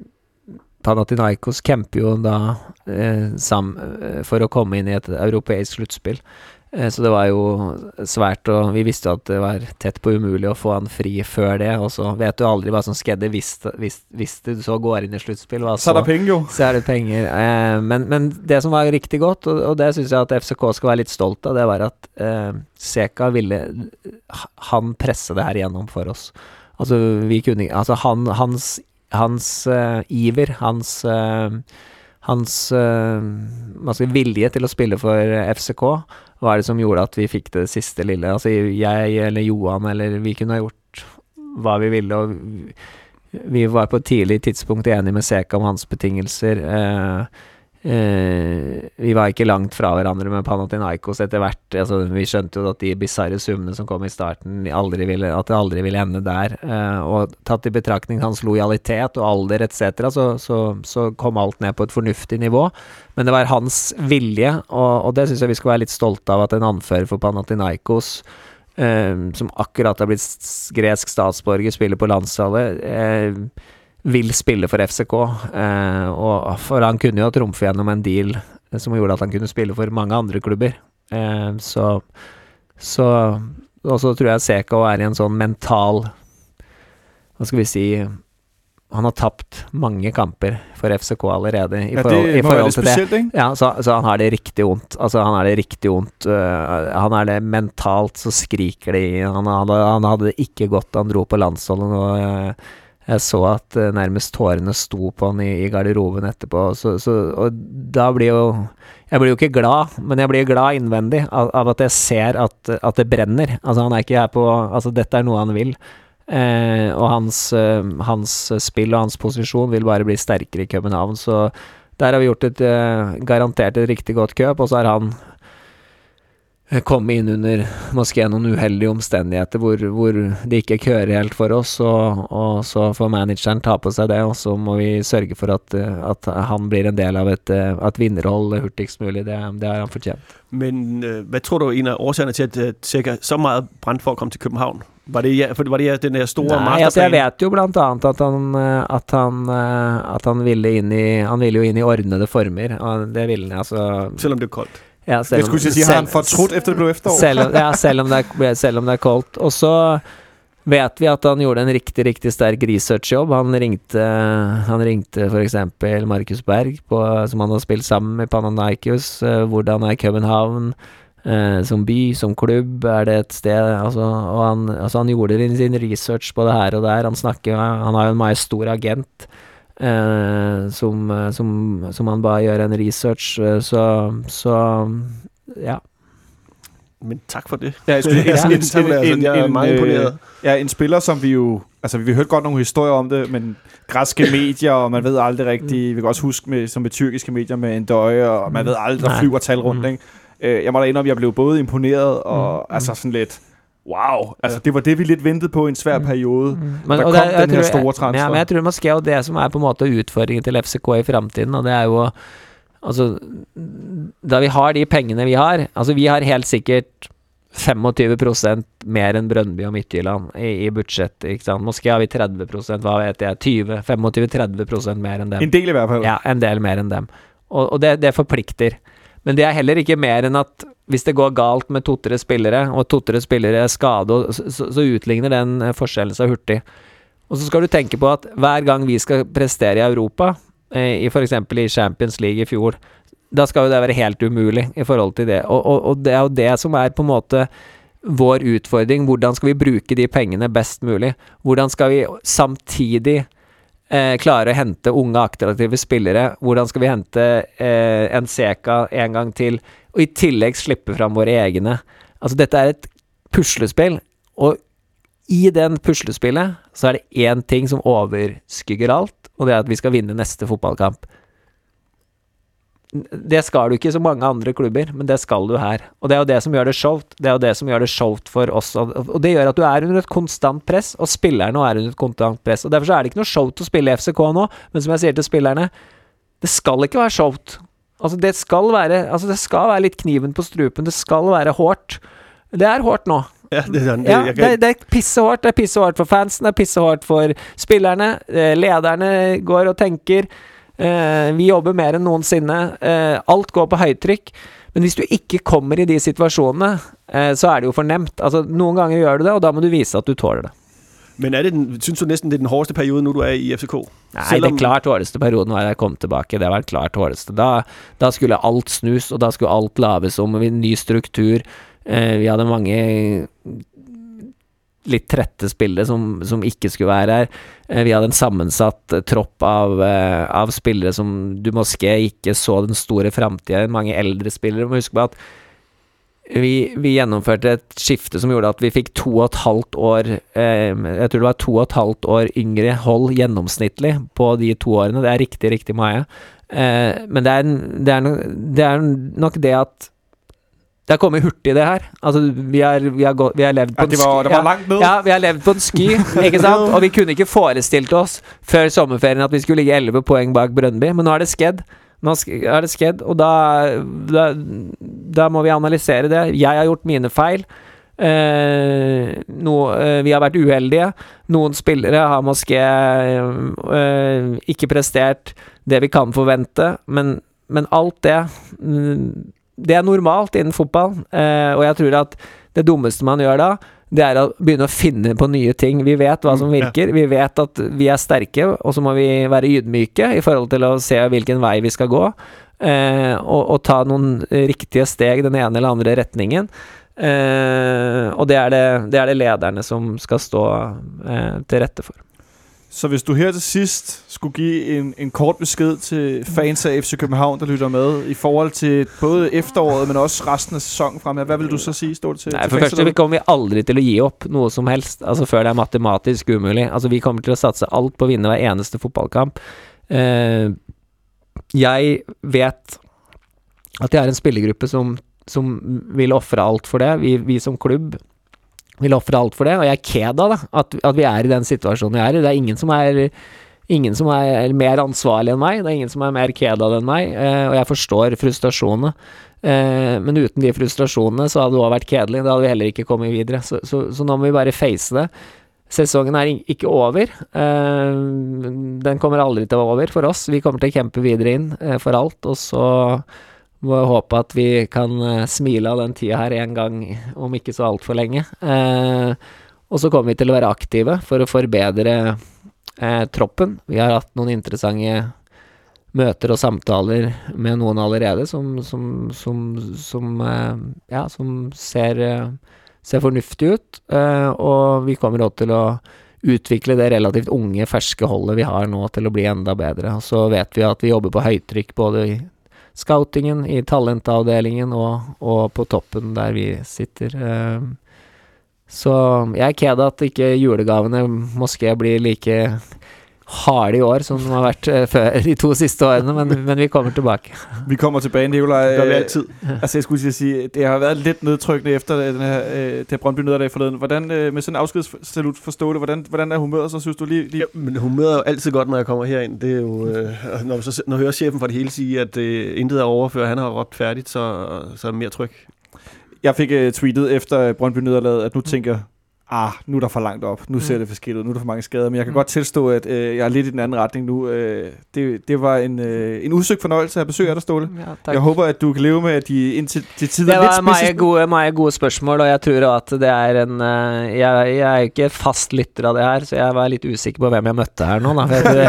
Panathinaikos kjemper jo da eh, sam, for å komme inn i et europeisk sluttspill. Eh, så det var jo svært, og vi visste at det var tett på umulig å få han fri før det, og så vet du aldri hva som skedde hvis, hvis, hvis du så går inn i sluttspill. Så, så er det penger jo. Så er det penger. Eh, men, men det som var riktig godt, og, og det synes jeg at F C K skal være litt stolt av, det var at eh, Seka ville, han presse det her gjennom for oss. Altså, vi kunne, altså han, hans, hans uh, iver, hans... Uh, hans uh, altså, vilje til å spille for F C K var det som gjorde at vi fikk det siste lille. Altså jeg eller Johan eller vi kunne ha gjort hva vi ville, og vi var på et tidlig tidspunkt enige med Seka om hans betingelser. Uh, uh, vi var ikke langt fra hverandre med Panathinaikos etter hvert. Altså, vi skjønte jo at de bizarre summene som kom i starten, aldri ville, at det aldri ville ende der. Uh, og tatt i betraktning hans lojalitet og alder et cetera, så, så, så kom alt ned på et fornuftig nivå. Men det var hans vilje, og, og det synes jeg vi skal være litt stolte av, at en anfører for Panathinaikos, uh, som akkurat har blitt gresk statsborger, spiller på landslaget, uh, vil spille for F C K, uh, og for han kunne jo trumfe gjennom en deal som gjorde at han kunne spille for mange andre klubber. Uh, så, så, og så tror jeg Seka er i en sånn mental, hva skal vi si, han har tapt mange kamper for F C K allerede i ja, forhold, det i forhold til spesielt, det. Ja, så, så han har det riktig ondt. Altså, han har det riktig ondt. Uh, han er det mentalt, så skriker det i. Han, han, han hadde det ikke godt da han dro på landsholdet, og uh, jeg så at uh, nærmest tårene sto på han i, i garderoben etterpå. Så, så, og da blir jo jeg blir jo ikke glad, men jeg blir glad innvendig av, av at jeg ser at, at det brenner. Altså, han er ikke her på altså, dette er noe han vil. Eh, og hans, eh, hans spill og hans posisjon vil bare bli sterkere i København, så der har vi gjort et eh, garantert et riktig godt køp, og så har han eh, kommet inn under måske noen uheldige omstendigheter hvor, hvor det ikke kører helt for oss, og, og så får manageren ta på seg det, og så må vi sørge for at, at han blir en del av et, et vinnerhold hurtigst mulig. Det, det har han fortjent. Men øh, hvad tror du er en af årsagerne til, at Seka så meget brændte for at komme til København? Var det, ja, for var det den der store masterplan? Nei, altså jeg vet jo blant annet at han, at han, at han ville inn i, han ville jo inn i ordnede former, og det ville han, altså... Selvom det er koldt. Ja, selv om, jeg skulle ikke si, har han fortrudt efter det blev efterår? Selv, ja, selv om, det er, selv om det er koldt. Og så vet vi at han gjorde en riktig, riktig sterk researchjobb. Han ringte, han ringte for eksempel Markus Berg, på, som han har spilt sammen med Panathinaikos, hvordan er København, Eh, som by, som klubb, er det et sted, altså, og han, altså, han gjorde sin research på det her og der, han snakker, han har jo en meget stor agent eh, som, som, som han bare gjør en research, så, så ja. Men tak for det. Ja, jeg, skulle, ja, en, en, en, en, jeg er meget imponeret. Ja, en spiller, som vi jo, altså vi har hørt godt nogle historier om det, men græske medier, og man ved aldrig rigtigt, vi kan også huske med, som med tyrkiske medier med en døje, og man ved aldrig, der flyver tal rundt, ikke? Jeg må da indrømme, jeg blev både imponeret og mm, altså sådan lidt, wow, altså det var det, vi lidt ventede på i en svær periode. Mm, men, der kom det, den her tror, store transfer. Ja, men jeg tror måske jo det, som er på en måte utfordringen til F C K i fremtiden, og det er jo, altså, da vi har de pengene vi har, altså vi har helt sikkert femogtyve prosent mer enn Brøndby og Midtjylland i, i budsjett, ikke sant? Måske har vi tretti prosent, hva vet jeg, tyve, femogtyve til tretti prosent mer enn dem. En del i hvert fall. Ja, en del mer enn dem. Og, og det, det forplikter. Men det er heller ikke mer enn at hvis det går galt med to-tre spillere, og to-tre spillere er skadet, så, så, så utligner den forskjellen så hurtig. Og så skal du tenke på at hver gang vi skal prestere i Europa, eh, i for eksempel i Champions League i fjor, da skal jo det være helt umulig i forhold til det. Og, og, og det er jo det som er på en måte vår utfordring. Hvordan skal vi bruke de pengene best mulig? Hvordan skal vi samtidig Eh, klare å hente unge attraktive spillere? Hvordan skal vi hente eh, en Seka en gang til, og i tillegg slippe fram våre egne? Altså dette er et puslespill, og i den puslespillet så er det én ting som overskygger alt, og det er at vi skal vinne neste fotballkamp. Det skal du ikke i så mange andre klubber, men det skal du her. Og det er jo det som gjør det showt. Det er jo det som gjør det showt for oss. Og det gjør at du er under et konstant press, og spillerne er under et konstant press. Og derfor så er det ikke noe showt å spille i F C K nå, men som jeg sier til spillerne, det skal ikke være showt. Altså det skal være, altså det skal være litt kniven på strupen, det skal være hårdt. Det er hårdt nå. Ja, det er, det, Ja, jeg det, kan, det er pissehårdt. Det er pissehårdt for fansen, det er pissehårdt for spillerne. Eh, lederne går og tenker. Eh, vi jobber mer enn noensinne. Eh, alt går på høytrykk. Men hvis du ikke kommer i de situasjonene, eh, så er det jo for nemt. Altså, noen ganger gjør du det, og da må du vise at du tåler det. men er det den, synes du næsten, det er den hårdeste periode, nu du er i F C K? Nei, Selvom, det klart hårdeste perioden var da jeg kom tilbake. Det var klart hårdeste. Da, da skulle alt snus, og da skulle alt laves om. En ny struktur. Eh, vi hadde mange litt trette spillere som, som ikke skulle være her. Eh, vi hadde en sammensatt eh, tropp av, eh, av spillere som du måske ikke så den store fremtiden. Mange eldre spillere. Du må huske på at vi, vi gjennomførte et skifte som gjorde at vi fikk to og et halvt år eh, jeg tror det var to og et halvt år yngre hold gjennomsnittlig på de to årene. Det er riktig, riktig mye. Eh, men det er, det, er no, det er nok det at det har kommet hurtig det her. Altså, vi har, vi har, gått, vi har levd på Ja, det var, det var ja, langt ned. ja, vi har levd på en sky, ikke sant? Og vi kunne ikke forestilt oss før sommerferien at vi skulle ligge elleve poeng bak Brøndby, men nå er det skjedd. Nå er det skjedd, og da, da, da må vi analysere det. Jeg har gjort mine feil. Eh, no, eh, vi har vært uheldige. Noen spillere har måske eh, ikke prestert det vi kan forvente, men, men alt det det er normalt innen fotball, eh, og jeg tror at det dummeste man gjør da, det er å begynne å finne på nye ting. Vi vet hva som virker, vi vet at vi er sterke, og så må vi være ydmyke i forhold til å se hvilken vei vi skal gå, eh, og, og ta noen riktige steg den ene eller andre retningen. Eh, og det er det, det er det lederne som skal stå eh, til rette for. Så hvis du her til sidst skulle give en, en kort besked til fans af F C København, der lytter med, i forhold til både efteråret, men også resten af sæsonen fremad, hvad vil du så sige, står det til? Nei, til for første, vi kommer vi aldri til å gi opp noe som helst, altså før det er matematisk umulig. Altså, vi kommer til å satse alt på å vinne hver eneste fotballkamp. Uh, jeg vet at jeg er en spillergruppe som, som vil offre alt for det. Vi, vi som klubb vil offre alt for det, og jeg er ked av det, at, at vi er i den situasjonen vi er i. Det er ingen som er, ingen som er mer ansvarlig enn meg, det er ingen som er mer ked av det enn meg, eh, og jeg forstår frustrasjonene. Eh, men uten de frustrasjonene så hadde det også vært kedelig, da hadde vi heller ikke kommet videre. Så, så, så nå må vi bare face det. Sesongen er ikke over. Eh, den kommer aldri til å være over for oss. Vi kommer til å kjempe videre inn eh, for alt, og så må jeg håpe at vi kan uh, smile av den tida her en gang, om ikke så alt for lenge. Eh, og så kommer vi til å være aktive for å forbedre eh, troppen. Vi har hatt noen interessante møter og samtaler med noen allerede som, som, som, som, eh, ja, som ser, uh, ser fornuftig ut. Eh, og vi kommer også til å utvikle det relativt unge, ferske holdet vi har nå til å bli enda bedre. Og så vet vi at vi jobber på høytrykk både i scoutingen, i talentavdelingen og, og på toppen der vi sitter. Så jeg er ked at ikke julegavene måske blir like harde i år som de har vært før de to siste årene, men, men vi kommer tilbake. Vi kommer tilbage, Nikolaj. Det gør vi altid. Altså, jeg skulle sige, det har været lidt nedtrykkende efter den her, det her Brøndby nederlag forleden. Hvordan, med sådan en afskedssalut forstå det, hvordan, hvordan er humøret, så synes du lige... lige... Ja, men humøret er jo altid godt, når jeg kommer herind. Det er jo, øh, når, så, når jeg hører chefen fra det hele sige, at øh, intet er overført, han har råbt færdigt, så, så er det mere tryk. Jeg fik uh, tweetet efter Brøndby nederlaget, at nu tænker ah, nu er der for langt op, nu ser mm. det for skidt ud, nu er der for mange skader, men jeg kan mm. godt tilstå, at øh, jeg er lidt i den anden retning nu. Øh, det, det var en, øh, en udsøgt fornøjelse at besøge dig, Ståle. Ja, jeg håber, at du kan leve med, at de indtil de tider det var meget gode, meget gode spørsmål, og jeg tror at det er en, uh, jeg, jeg er ikke fast lytter av det her, så jeg var litt usikker på hvem jeg møtte her nå, da.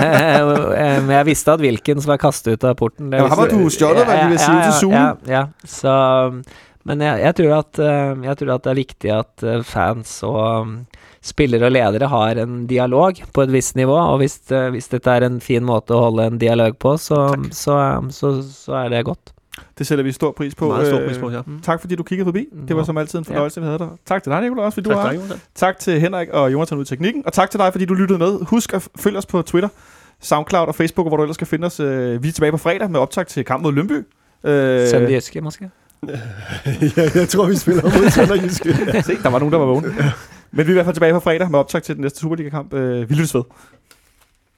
Men jeg visste at Wilkins var kastet ut av porten. Ja, han var du stjålet, hvad vi vil sige, til Zoom. Ja, ja, så... Men jeg, jeg, tror at, jeg tror at det er viktig at fans og spillere og ledere har en dialog på et visst nivå, og hvis, hvis dette er en fin måte å holde en dialog på, så, så, så, så er det godt. Det sætter vi stor pris på. Meget stor pris på, ja. Mm. Tak fordi du kiggede forbi. Det var som altid en fornøjelse, ja. Vi havde dig. Tak til dig, Nikolaj, også fordi tak du har. dig, tak til Henrik og Jonathan ud i teknikken, og tak til dig, fordi du lyttede med. Husk at følge os på Twitter, SoundCloud og Facebook, hvor du ellers skal finde os. Vi er tilbage på fredag med optag til kamp mod Lyngby. Sønderjyske, måske? ja, jeg tror, vi spiller mod Sønderjyske. Se, der var nogen, der var vågne. Men vi er i hvert fald tilbage på fredag med optag til den næste Superliga-kamp. Vi lyttes ved.